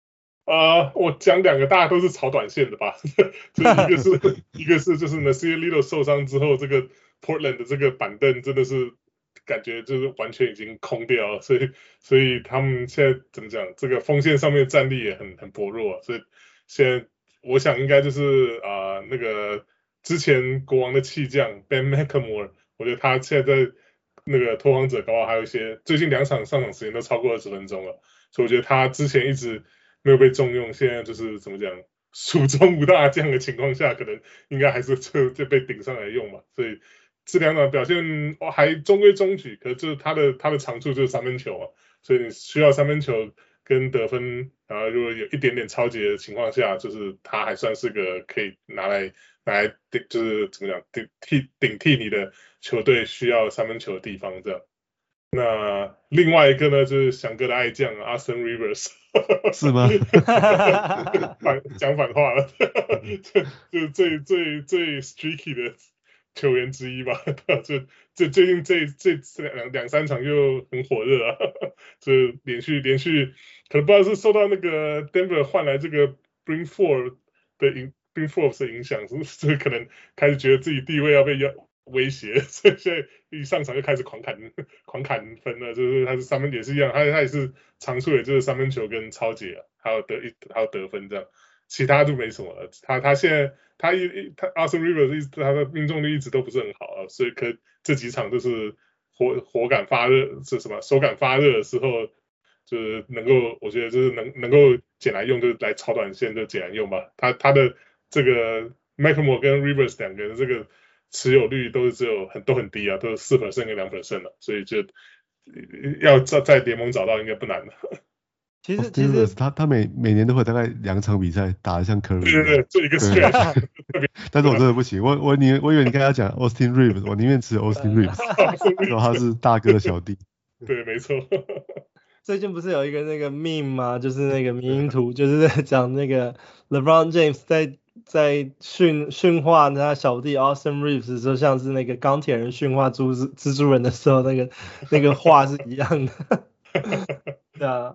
我講兩個，大家都是炒短線的吧？就一個是就是 Nasir Little 受傷之後，這個 Portland 的這個板凳真的是感覺就是完全已經空掉了，所以他們現在怎麼講？這個鋒線上面戰力也很薄弱，所以現在我想應該就是那個之前國王的棄將 Ben McLemore， 我覺得他現在在那個拓荒者搞不好還有一些最近2場上場時間都超過20分鐘了，所以我覺得他之前一直沒有被重用，現在就是怎麼講，蜀中無大將的情況下，可能應該還是就被頂上來用嘛。所以這兩場表現還中規中矩，可是就是他的長處就是三分球嘛，所以你需要三分球跟得分，然後如果有一點點抄截的情況下，就是他還算是個可以拿來就是怎麼講頂替你的球隊需要三分球的地方這樣。那另外一個呢，就是翔哥的愛將 Austin Rivers， 是嗎？ 講反話了，就最 streaky 的球員之一吧。这最近這兩三場就很火熱啊，就連續可能不知道是受到那個 Denver 換來這個 Bryn Forbes 的影響，是不是可能開始覺得自己地位要被威脅，所以現在一上場就開始狂砍分了，就是他是三分也是一樣，他也是長處，也就是三分球跟抄截，還有得分這樣，其他就沒什麼了。他現在他 Austin Rivers 他的命中率一直都不是很好啊，所以這幾場就是火感發熱，是什麼手感發熱的時候，就是能夠我覺得就是能夠撿来用，就來超短線就撿來用吧。他的這個 McLemore 跟 Rivers 兩個人這個持有率都很低啊，都是 4% 跟 2% 了，所以就要在聯盟找到應該不難的。 其實他每年都會大概2場比賽打得像 Curry， 對，就一個 stretch。 但是我真的不行，我以為你剛才講 Austin Reeves， 我寧願持有 Austin Reeves， 說他是大哥的小弟。 對，沒錯。 最近不是有一個那個 meme 嗎？就是那個迷因圖，就是在講那個 LeBron James 在訓話他小弟 Austin Reeves 的時候，像是那個鋼鐵人訓話蜘蛛人的時候，那個話是一樣的。對啊，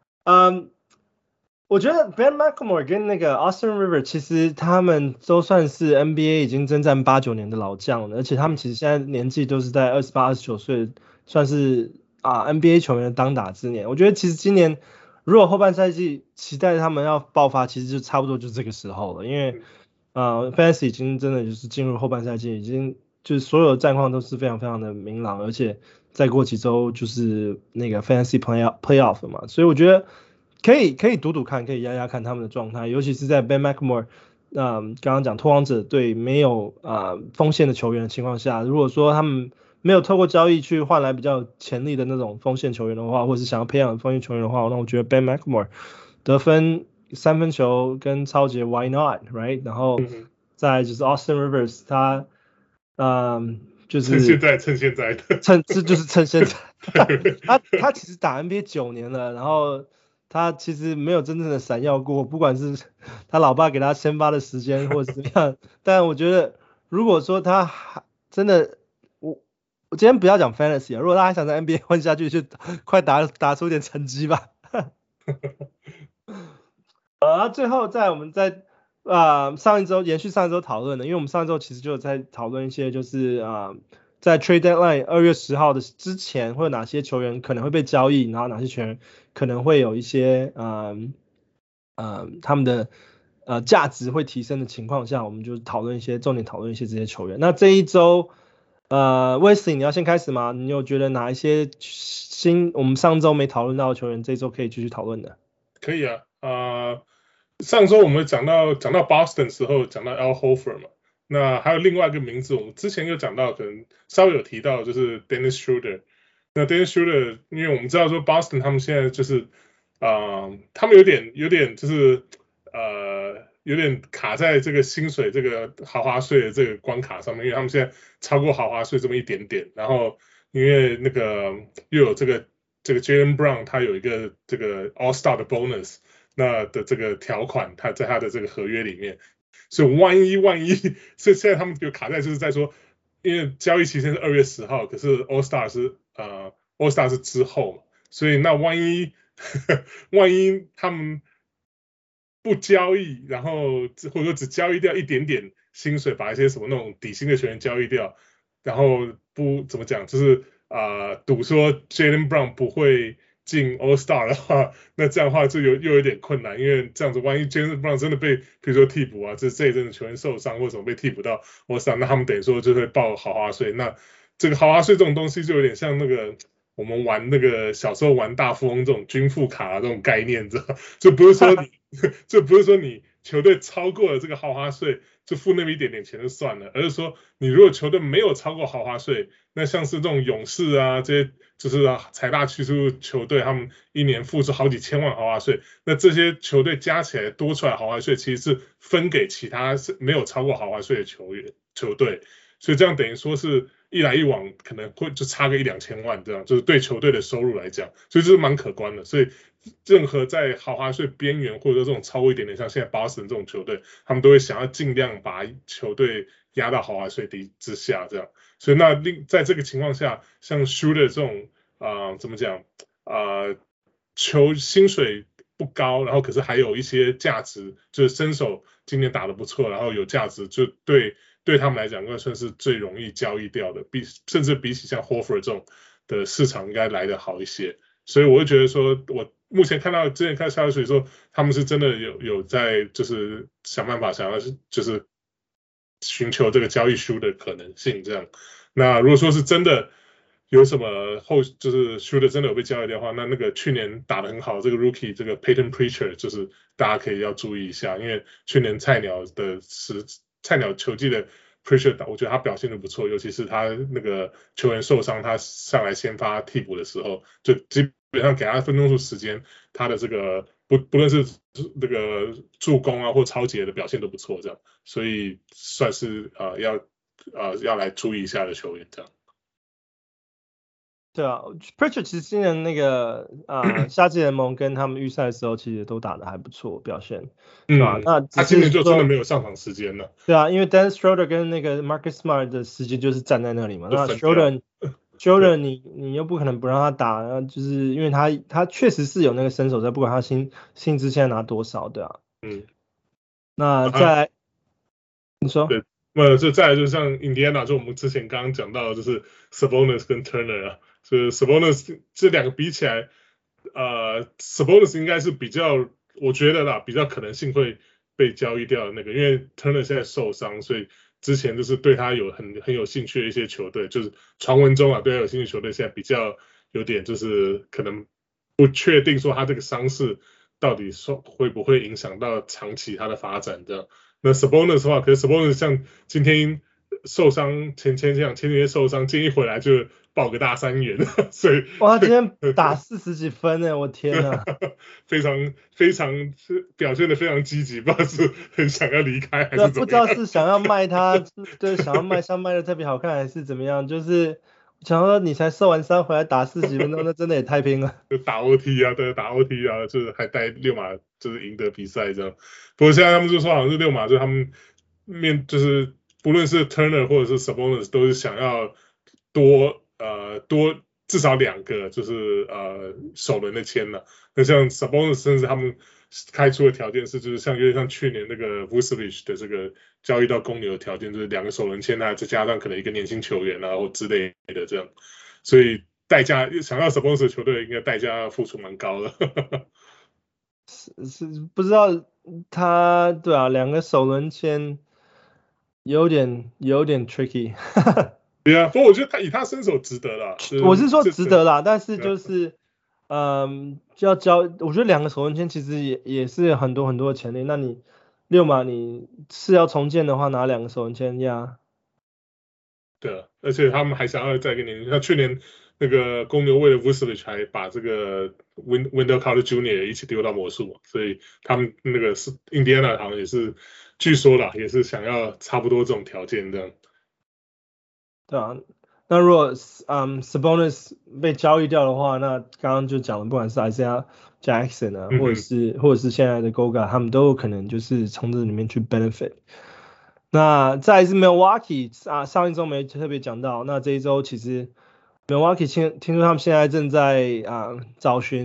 我覺得 Ben McLemore 跟那個 Austin Rivers 其實他們都算是 NBA 已經征戰8、9年的老將了，而且他們其實現在年紀都是在28、29歲，算是NBA 球員的當打之年。我覺得其實今年如果後半賽季期待他們要爆發，其實就差不多就這個時候了，因為Fantasy 已經真的就是進入後半賽季，已經就是所有的戰況都是非常非常的明朗，而且再過幾週就是那個 Fantasy Playoff 嘛，所以我覺得可以賭看，可以壓看他們的狀態，尤其是在 Ben McLemore 剛剛講拓荒者隊沒有鋒線的球員的情況下，如果說他們沒有透過交易去換來比較潛力的那種鋒線球員的話，或者是想要培養鋒線球員的話，那我覺得 Ben McLemore 得分、三分球跟抄截 Why not right？ 然後再來就是 Austin Rivers 他就是趁現在的就是趁現在他其實打 NBA 9年了，然後他其實沒有真正的閃耀過，不管是他老爸給他先發的時間或者怎麼樣，但我覺得如果說他真的我今天不要講 Fantasy 如果他還想在 NBA 混下去，就快打出一點成績吧。最後我們在上一周延續上一周討論的，因為我們上一周其實就有在討論一些就是在 Trade Deadline 2月10號的之前會有哪些球員可能會被交易，然後哪些球員可能會有一些他們的價值會提升的情況下，我們就重點討論一些這些球員。那這一周Wesley 你要先開始嗎？你有覺得哪一些我們上周沒討論到的球員這一周可以繼續討論的？ 可以啊，上周我們講到 Boston 的時候講到 Al Horford 嘛，那還有另外一個名字我們之前有講到，可能稍微有提到就是 Dennis Schroeder。那 Dennis Schroeder 因為我們知道說 Boston 他們現在就是他們有點就是有點卡在這個薪水這個豪華稅的這個關卡上面，因為他們現在超過豪華稅這麼一點點，然後因為那個又有這個 Jaylen Brown 他有一個這個 All Star 的 bonus 那的這個條款，他在他的這個合約裡面，所以萬一，所以現在他們就卡在就是在說，因為交易期限是2月10號，可是 All Star 是之後嘛，所以那萬一他們不交易，然後或者說只交易掉一點點薪水，把一些什麼那種底薪的球員交易掉，然後不怎麼講，就是賭說 Jaylen Brown 不會進 All Star 的話，那這樣的話就又有點困難，因為這樣子萬一 Jaylen Brown 真的被比如說替補啊，這一陣的球員受傷或什麼被替補到 All Star，那他們等於說就會報豪華稅。那這個豪華稅這種東西就有點像那個我們玩那個小時候玩大富翁這種均富卡啊這種概念，知道？就不是說你球隊超過了這個豪華稅就付那麼一點點錢就算了，而是說你如果球隊沒有超過豪華稅，那像是這種勇士啊這些就是財大氣粗球隊，他們一年付出好幾千萬豪華稅，那這些球隊加起來多出來豪華稅其實是分給其他沒有超過豪華稅的球隊，所以這樣等於說是一來一往可能會就差個1-2千萬這樣，就是對球隊的收入來講，所以這是蠻可觀的。所以任何在豪華稅邊緣或者說這種超過一點點，像現在Boston這種球隊，他們都會想要盡量把球隊壓到豪華稅之下這樣。所以那在這個情況下，像 Shooter 這種怎麼講球薪水不高，然後可是還有一些價值，就是身手今年打得不錯，然後有價值，就對他们來講，應該算是最容易交易掉的，甚至比起像 Horford 這種的市場應該來得好一些。所以我會覺得說，我目前之前看消息說，他們是真的有在就是想辦法想要就是尋求這個交易Shooter的可能性這樣。那如果說是真的有什麼就是 Shooter 真的有被交易掉的話，那個去年打得很好這個 Rookie 這個 Peyton Pritchard 就是大家可以要注意一下，因為去年菜鳥球季的 Pritchard 我覺得他表現得不錯，尤其是他那個球員受傷，他上來先發替補的時候，就基本上給他分鐘數時間，他的這個不論是那個助攻啊或抄截的表現都不錯，這樣，所以算是要來注意一下的球員這樣。 對啊 ，Pritchard 其實今年那個夏季聯盟跟他們預賽的時候，其實都打得還不錯，表現，對吧？那他今年就真的沒有上場時間了。 對啊，因為 Dennis Schroeder 跟那個 Marcus Smart 的時間就是站在那裡嘛。那 Schroeder 你又不可能不讓他打，就是因為他確實是有那個身手在，不管他薪資現在拿多少，對啊。那再來，你說？對， 就再來就像 Indiana， 就我們之前剛剛講到的，就是 Sabonis 跟 Turner 啊。所以 Sabonis 這兩個比起來，Sabonis 應該是比較，我覺得啦，比較可能性會被交易掉的那個，因為 Turner 現在受傷，所以之前就是對他有很有興趣的一些球隊，就是傳聞中啊對他有興趣的球隊，現在比較有點就是可能不確定說他這個傷勢到底會不會影響到長期他的發展這樣。那 Sabonis 的話，可是 Sabonis 像今天受傷，前幾天受傷，今天一回來就爆個大3元，所以哇，他今天打40幾分呢，我天哪！ 非常表現得非常積極，不知道是很想要離開還是怎麼樣， 不知道是想要賣他，對，想要賣像賣得特別好看還是怎麼樣，就是想說你才受完傷回來打40幾分鐘，那真的也太拼了。 就打 OT 啊，對，打 OT 啊，就是還帶六馬就是贏得比賽這樣。不過現在他們就說好像是六馬，就是他們就是不論是 Turner 或者是 Sabonis 都是想要多至少2個就是首輪的簽了。那像 Sabonis 甚至他們開出的條件是，就是有點像去年那個 Vucevic 的這個交易到公牛的條件，就是2個首輪簽啊，再加上可能一個年輕球員啊或之類的這樣。所以代價想要 Sabonis 的球隊應該代價要付出蠻高的。 是不知道他對啊，2個首輪簽有點 tricky。 對啊，不過我覺得他以他身手值得啦。 我是說值得啦，但是就是就要我覺得2個首輪簽其實也是很多的潛力。那你六馬你是要重建的話，拿2個首輪簽呀？ 對啊，而且他們還想要再給你，像去年那個公牛為了 Vucevic 還把這個 Wendell Carter Jr. 一起丟到魔術，所以他們那個是印第安納好像也是據說啦，也是想要差不多這種條件這樣。對啊，那如果Sabonis 被交易掉的話，那剛剛就講了，不管是 Isaiah Jackson 啊，或者是現在的 Goga， 他們都有可能就是從這裡面去 benefit。那再來是 Milwaukee 上一周沒特別講到，那這一周其實 Milwaukee 聽說他們現在正在找尋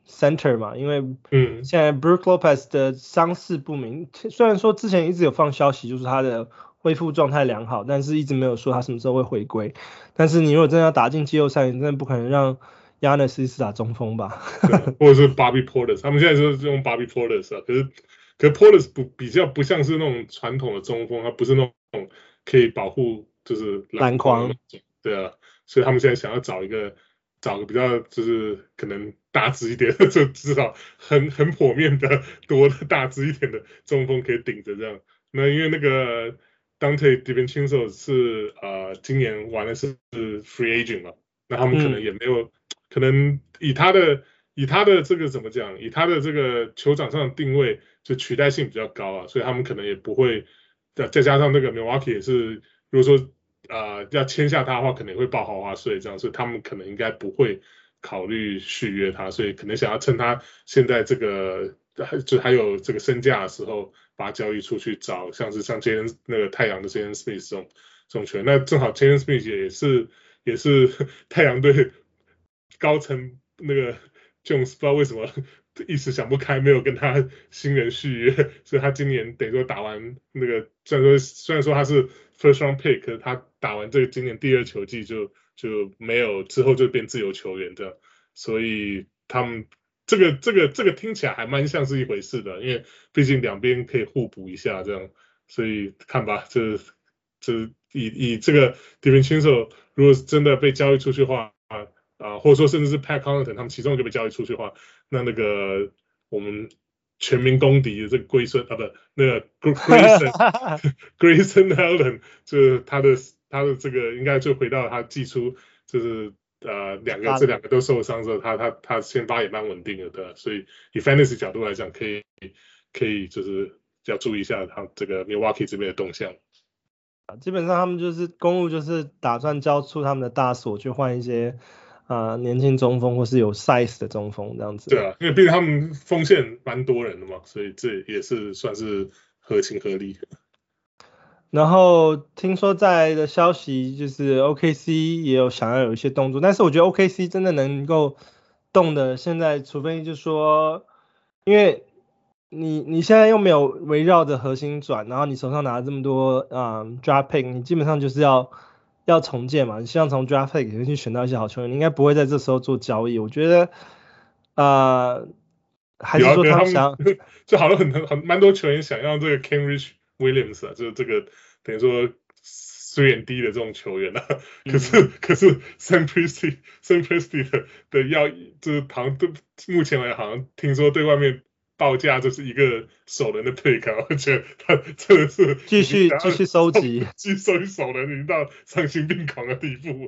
center 嘛，因為現在 Brook Lopez 的傷勢不明，雖然說之前一直有放消息，就是他的恢復狀態良好，但是一直沒有說他什麼時候會回歸。但是你如果真的要打進季後賽，你真的不可能讓 Giannis 一直打中鋒吧？ 或者是 Bobby Portis， 他們現在就是用 Bobby Portis 啊，可是 Portis 比較不像是那種傳統的中鋒，他不是那種可以保護就是籃筐，對啊，所以他們現在想要找個比較就是可能大只一點，就至少很剖面的多的大只一點的中鋒可以頂着這樣。那因為那個 Dante DiVincenzo 是今年玩的是 free agent 嘛，那他們可能也沒有，可能以他的這個怎麼講，以他的這個球場上的定位就取代性比較高啊，所以他們可能也不會，再加上那個 Milwaukee 也是，如果說要簽下他的話，可能會報豪華稅這樣，所以他們可能應該不會考慮續約他，所以可能想要趁他現在這個就還有這個身價的時候，把他交易出去找像那個太陽的 Jalen Smith 這種球員，那正好 Jalen Smith 也是太陽隊高層那個 Jones 不知道為什麼一時想不開，沒有跟他新人續約，所以他今年等於說打完那個雖然說他是 first round pick， 可是他打完這個今年第二球季就沒有，之後就變自由球員這樣，所以他們這個聽起來還蠻像是一回事的，因為畢竟兩邊可以互補一下這樣，所以看吧，這以這個 DiVincenzo 如果真的被交易出去的話或者說甚至是 Pat Connaughton 他們其中就被交易出去的話，那個我們全民公敵的這個那個 Grayson Allen 就是他的這個應該就回到他季初就是這兩個都受傷之後，他先發也蠻穩定的，对吧？所以以 fantasy 角度來講，可以就是要注意一下他這個 Milwaukee 這邊的動向。 基本上他們就是公路就是打算交出他們的大鎖去換一些年輕中鋒或是有 size 的中鋒這樣子。 對啊，因為畢竟他們鋒線蠻多人的嘛，所以這也是算是合情合理。 然後聽說在的消息就是 OKC 也有想要有一些動作，但是我覺得 OKC 真的能夠動的，現在除非就是說，因為你現在又沒有圍繞着核心轉，然後你手上拿了這麼多draft pick， 你基本上就是要重建嘛，你希望從 draft pick 裡面去選到一些好球員，你應該不會在這時候做交易。我覺得還是說他們想就好像蠻多球員想要這個 Kenrich Williams 就是這個等於說3&D 的這種球員啊，可是 Sam Presti 的要就是好像目前來好像聽說對外面報價就是一個首輪的 pick， 我覺得他真的是繼續收集， 繼續收集首輪已經到喪心病狂的地步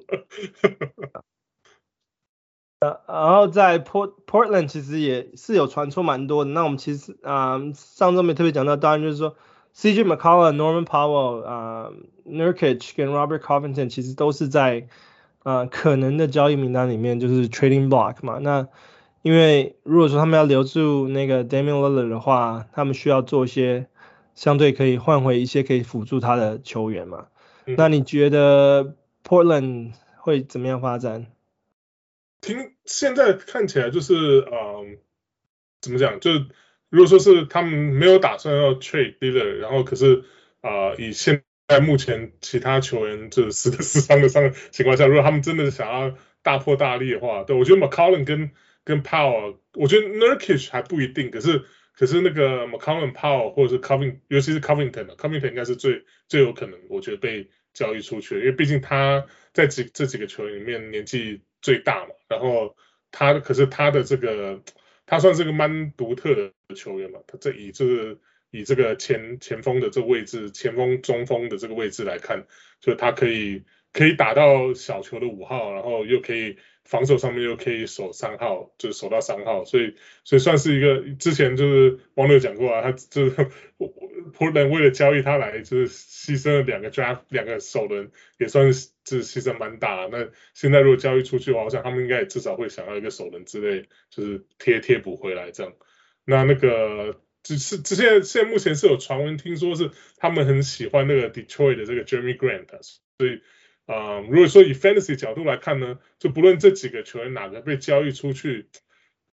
然後在 Portland 其實也是有傳出蠻多的，那我們其實上周沒特別講到，當然就是說 CJ McCollum、Norman Powell、Nurkic 跟 Robert Covington 其實都是在可能的交易名單裡面，就是 trading block 嘛。那因為如果說他們要留住那個 Damian Lillard 的話，他們需要做一些相對可以換回一些可以輔助他的球員嘛。那你覺得 Portland 會怎麼樣發展？ 現在看起來就是怎麼講？就是如果說是他們沒有打算要 trade Lillard， 然後可是以現在目前其他球員就是死傷的情況下，如果他們真的想要大破大立的話，對，我覺得 McCollum 跟 Powell， 我覺得 Nurkic 還不一定，可是那個 McCollum、Powell 或者是 Covington， 尤其是 Covington 應該是最有可能，我覺得被交易出去，因為畢竟他在這幾個球員裡面年紀最大嘛，然後可是他的這個他算是個蠻獨特的球員嘛，他以這個前鋒的這個位置，前鋒中鋒的這個位置來看，就他可以打到小球的5號，然後又可以防守上面又可以守3號，就是守到3號，所以算是一個之前就是王六講過啊，他就是 Portland 為了交易他來，就是犧牲了2個首輪，也算是犧牲蠻大。那現在如果交易出去的話，我想他們應該也至少會想要一個首輪之類，就是貼補回來這樣。那個現在目前是有傳聞聽說是他們很喜歡那個 Detroit 的這個 Jeremy Grant， 所以如果說以 fantasy 角度來看呢，就不論這幾個球員哪個被交易出去，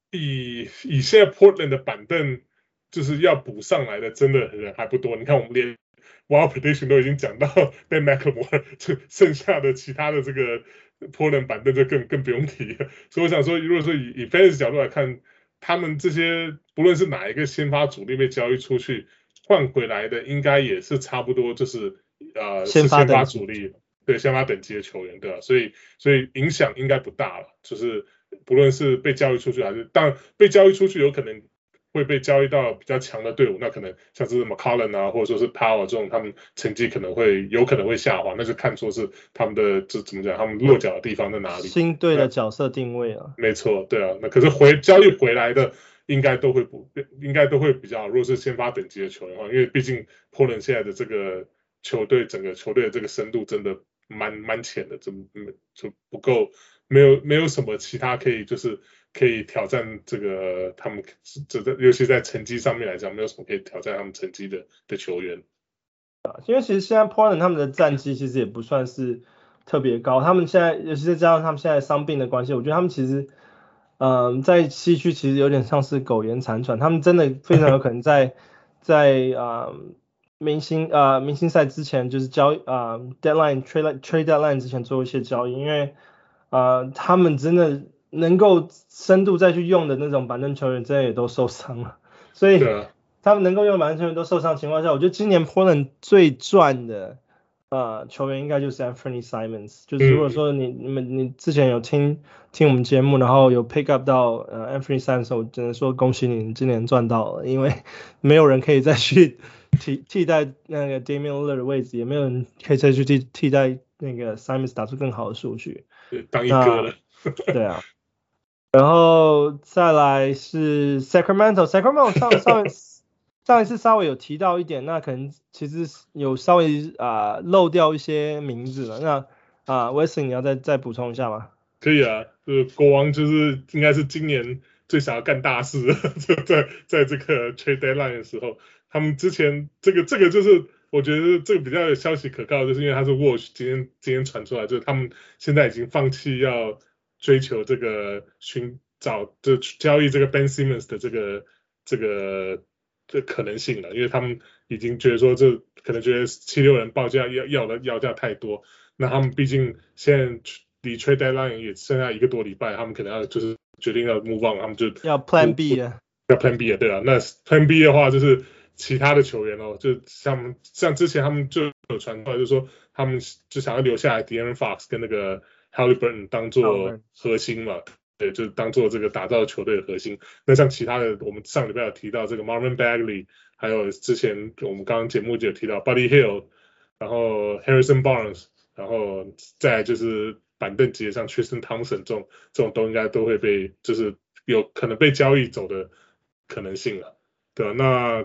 以現在 Portland 的板凳就是要補上來的，真的人還不多。你看我們連 Wild Prediction 都已經講到Ben McLemore，剩下的其他的這個 Portland 板凳就更不用提了。所以我想說，如果說以 Fantasy 角度來看，他們這些不論是哪一個先發主力被交易出去換回來的，應該也是差不多，就是是先發主力，對，先發等級的球員，对吧？所以影響應該不大了，就是不論是被交易出去還是，當然被交易出去有可能會被交易到比較強的隊伍，那可能像是 McCollum 啊，或者說是 Powell 這種，他們成績有可能會下滑，那就看出是他們的怎麼講，他們落腳的地方在哪裡， 新隊的角色定位啊。 沒錯，對啊，那可是交易回來的應該都會比較好，如果是先發等級的球員的話，因為畢竟 Portland 現在的這個球隊整個球隊的這個深度真的蠻淺的，就不夠，沒有什麼其他可以挑戰這個他們尤其在成績上面來講，沒有什麼可以挑戰他們成績的球員。 因為其實現在 Portland 他們的戰績其實也不算是特別高，他們現在尤其是加上他們現在傷病的關係，我覺得他們其實在西區其實有點像是苟延殘喘，他們真的非常有可能在明星賽之前就是trade deadline 之前做一些交易，因為他們真的能夠深度再去用的那種板凳球員真的也都受傷了，所以他們能夠用板凳球员都受傷的情況下，我覺得今年 Portland 最賺的球員應該就是 Anthony Simons， 就是如果說你之前有聽我們節目，然後有 pick up 到Anthony Simons， 我只能說恭喜你今年賺到了，因為沒有人可以再去替代那個 Damian Lillard 的位置，也沒有人可以再去替代那個 Simons 打出更好的數據， 當一哥了。 對啊，然後再來是 Sacramento 上一次稍微有提到一點，那可能其實有稍微漏掉一些名字了。那Wesley 你要再補充一下嗎？ 可以啊，國王就是應該是今年最想要幹大事的，在這個 trade deadline 的時候，他們之前這個就是我覺得這個比較有消息可靠，就是因為他是 Watch 今天傳出來，就是他們現在已經放棄要追求這個交易這個 Ben Simmons 的這個可能性了，因為他們已經覺得說這可能覺得76人報價要價太多，那他們畢竟現在離 trade deadline 也剩下1個多禮拜，他們可能要就是決定要 move on， 他們就要 Plan B 了， 要 Plan B 了，對啊，那 Plan B 的話就是其他的球員哦，就像之前他們就有傳出來，就是說他們就想要留下來 De'Aaron Fox 跟那個 Haliburton 當做核心嘛。對，就是當做這個打造球隊的核心。那像其他的，我們上禮拜有提到這個 Marvin Bagley， 還有之前我們剛剛節目就有提到 Buddy Hield， 然後 Harrison Barnes， 然後再來就是板凳級的像 Tristan Thompson 這種都應該都會被就是有可能被交易走的可能性了，對吧？那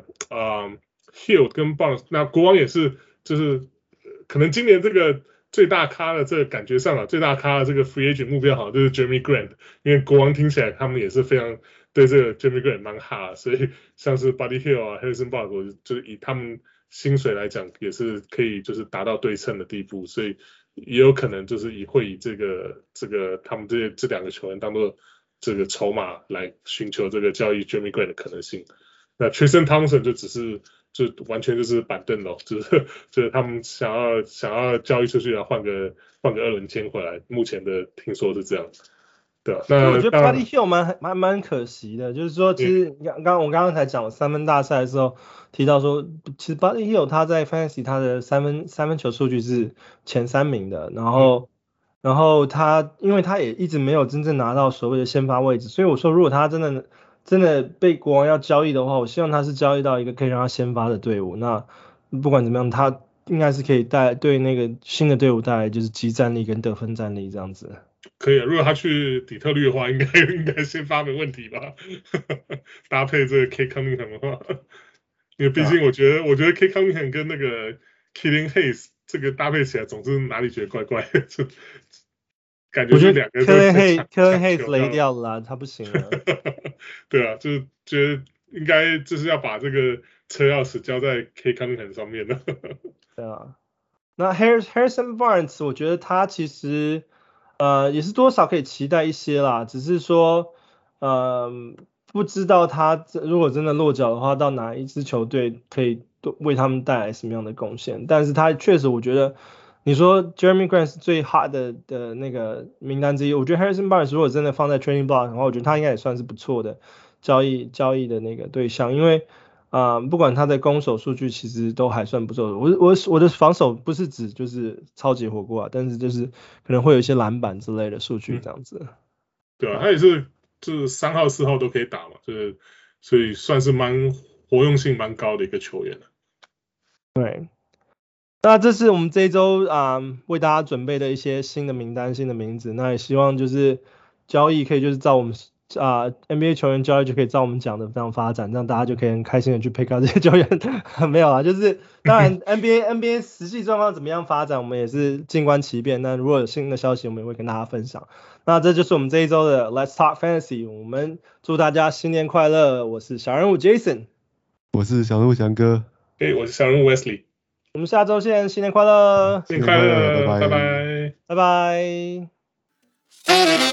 Hield 跟 Barnes， 那國王也是就是可能今年這個。最大咖的這個感覺上啊，最大咖的這個 free agent 目標好像就是 Jeremy Grant， 因為國王聽起來他們也是非常對這個 Jeremy Grant 蠻哈，所以像是 Buddy Hield 啊 Harrison Barnes 就是以他們薪水來講也是可以就是達到對稱的地步，所以也有可能就是會以這個他們這兩個球員當做這個籌碼來尋求這個交易 Jeremy Grant 的可能性。那 Tristan Thompson 就完全就是板凳咯，就是他們想要交易出去，然後換個2輪簽回來，目前的聽說是這樣，對吧？那我覺得 Buddy Hield 蠻可惜的，就是說其實我剛剛才講三分大賽的時候提到說，其實 Buddy Hield 他在 Fantasy 他的三分球數據是前3名的，然後他因為他也一直沒有真正拿到所謂的先發位置，所以我說如果他真的被國王要交易的話，我希望他是交易到一個可以讓他先發的隊伍。那不管怎麼樣，他應該是可以對那個新的隊伍帶來就是即戰力跟得分戰力這樣子。 可以啊，如果他去底特律的話，應該先發沒問題吧？搭配這個 Cade Cunningham 的話，因為畢竟我覺得 Cade Cunningham 跟那個 Killian Hayes 這個搭配起來，總是哪裡覺得怪怪的。感覺是2個人 Killian Hayes 雷掉了啦，他不行了。 對啊，就是覺得應該就是要把這個車鑰匙交在 Cade Cunningham 上面了。 對啊，那 Harrison Barnes 我覺得他其實也是多少可以期待一些啦，只是說不知道他如果真的落腳的話，到哪一支球隊可以為他們帶來什麼樣的貢獻。但是他確實，我覺得你說 Jeremy Grant 是最 hot 的那個名單之一，我覺得 Harrison Barnes 如果真的放在 trading block 的話，我覺得他應該也算是不錯的交易的那個對象，因為不管他的攻守數據其實都還算不錯。我的防守不是指就是超級火鍋啊，但是就是可能會有一些籃板之類的數據這樣子。 對啊，他也是就是3號4號都可以打嘛，就是所以算是活用性蠻高的一個球員。 對，那這是我們這一周為大家準備的一些新的名單、新的名字。那也希望就是交易可以就是照我們NBA 球員交易就可以照我們講的這樣發展，這樣大家就可以很開心的去 pick up 這些球員。沒有啊，就是當然 NBA 實際狀況怎麼樣發展，我們也是靜觀其變。那如果有新的消息，我們也會跟大家分享。那這就是我們這一周的 Let's Talk Fantasy。我們祝大家新年快樂！我是小人物 Jason， 我是小人物翔哥， 我是小人物 Wesley。 我們下周見，新年快樂！ 新年快樂，拜拜， 拜拜。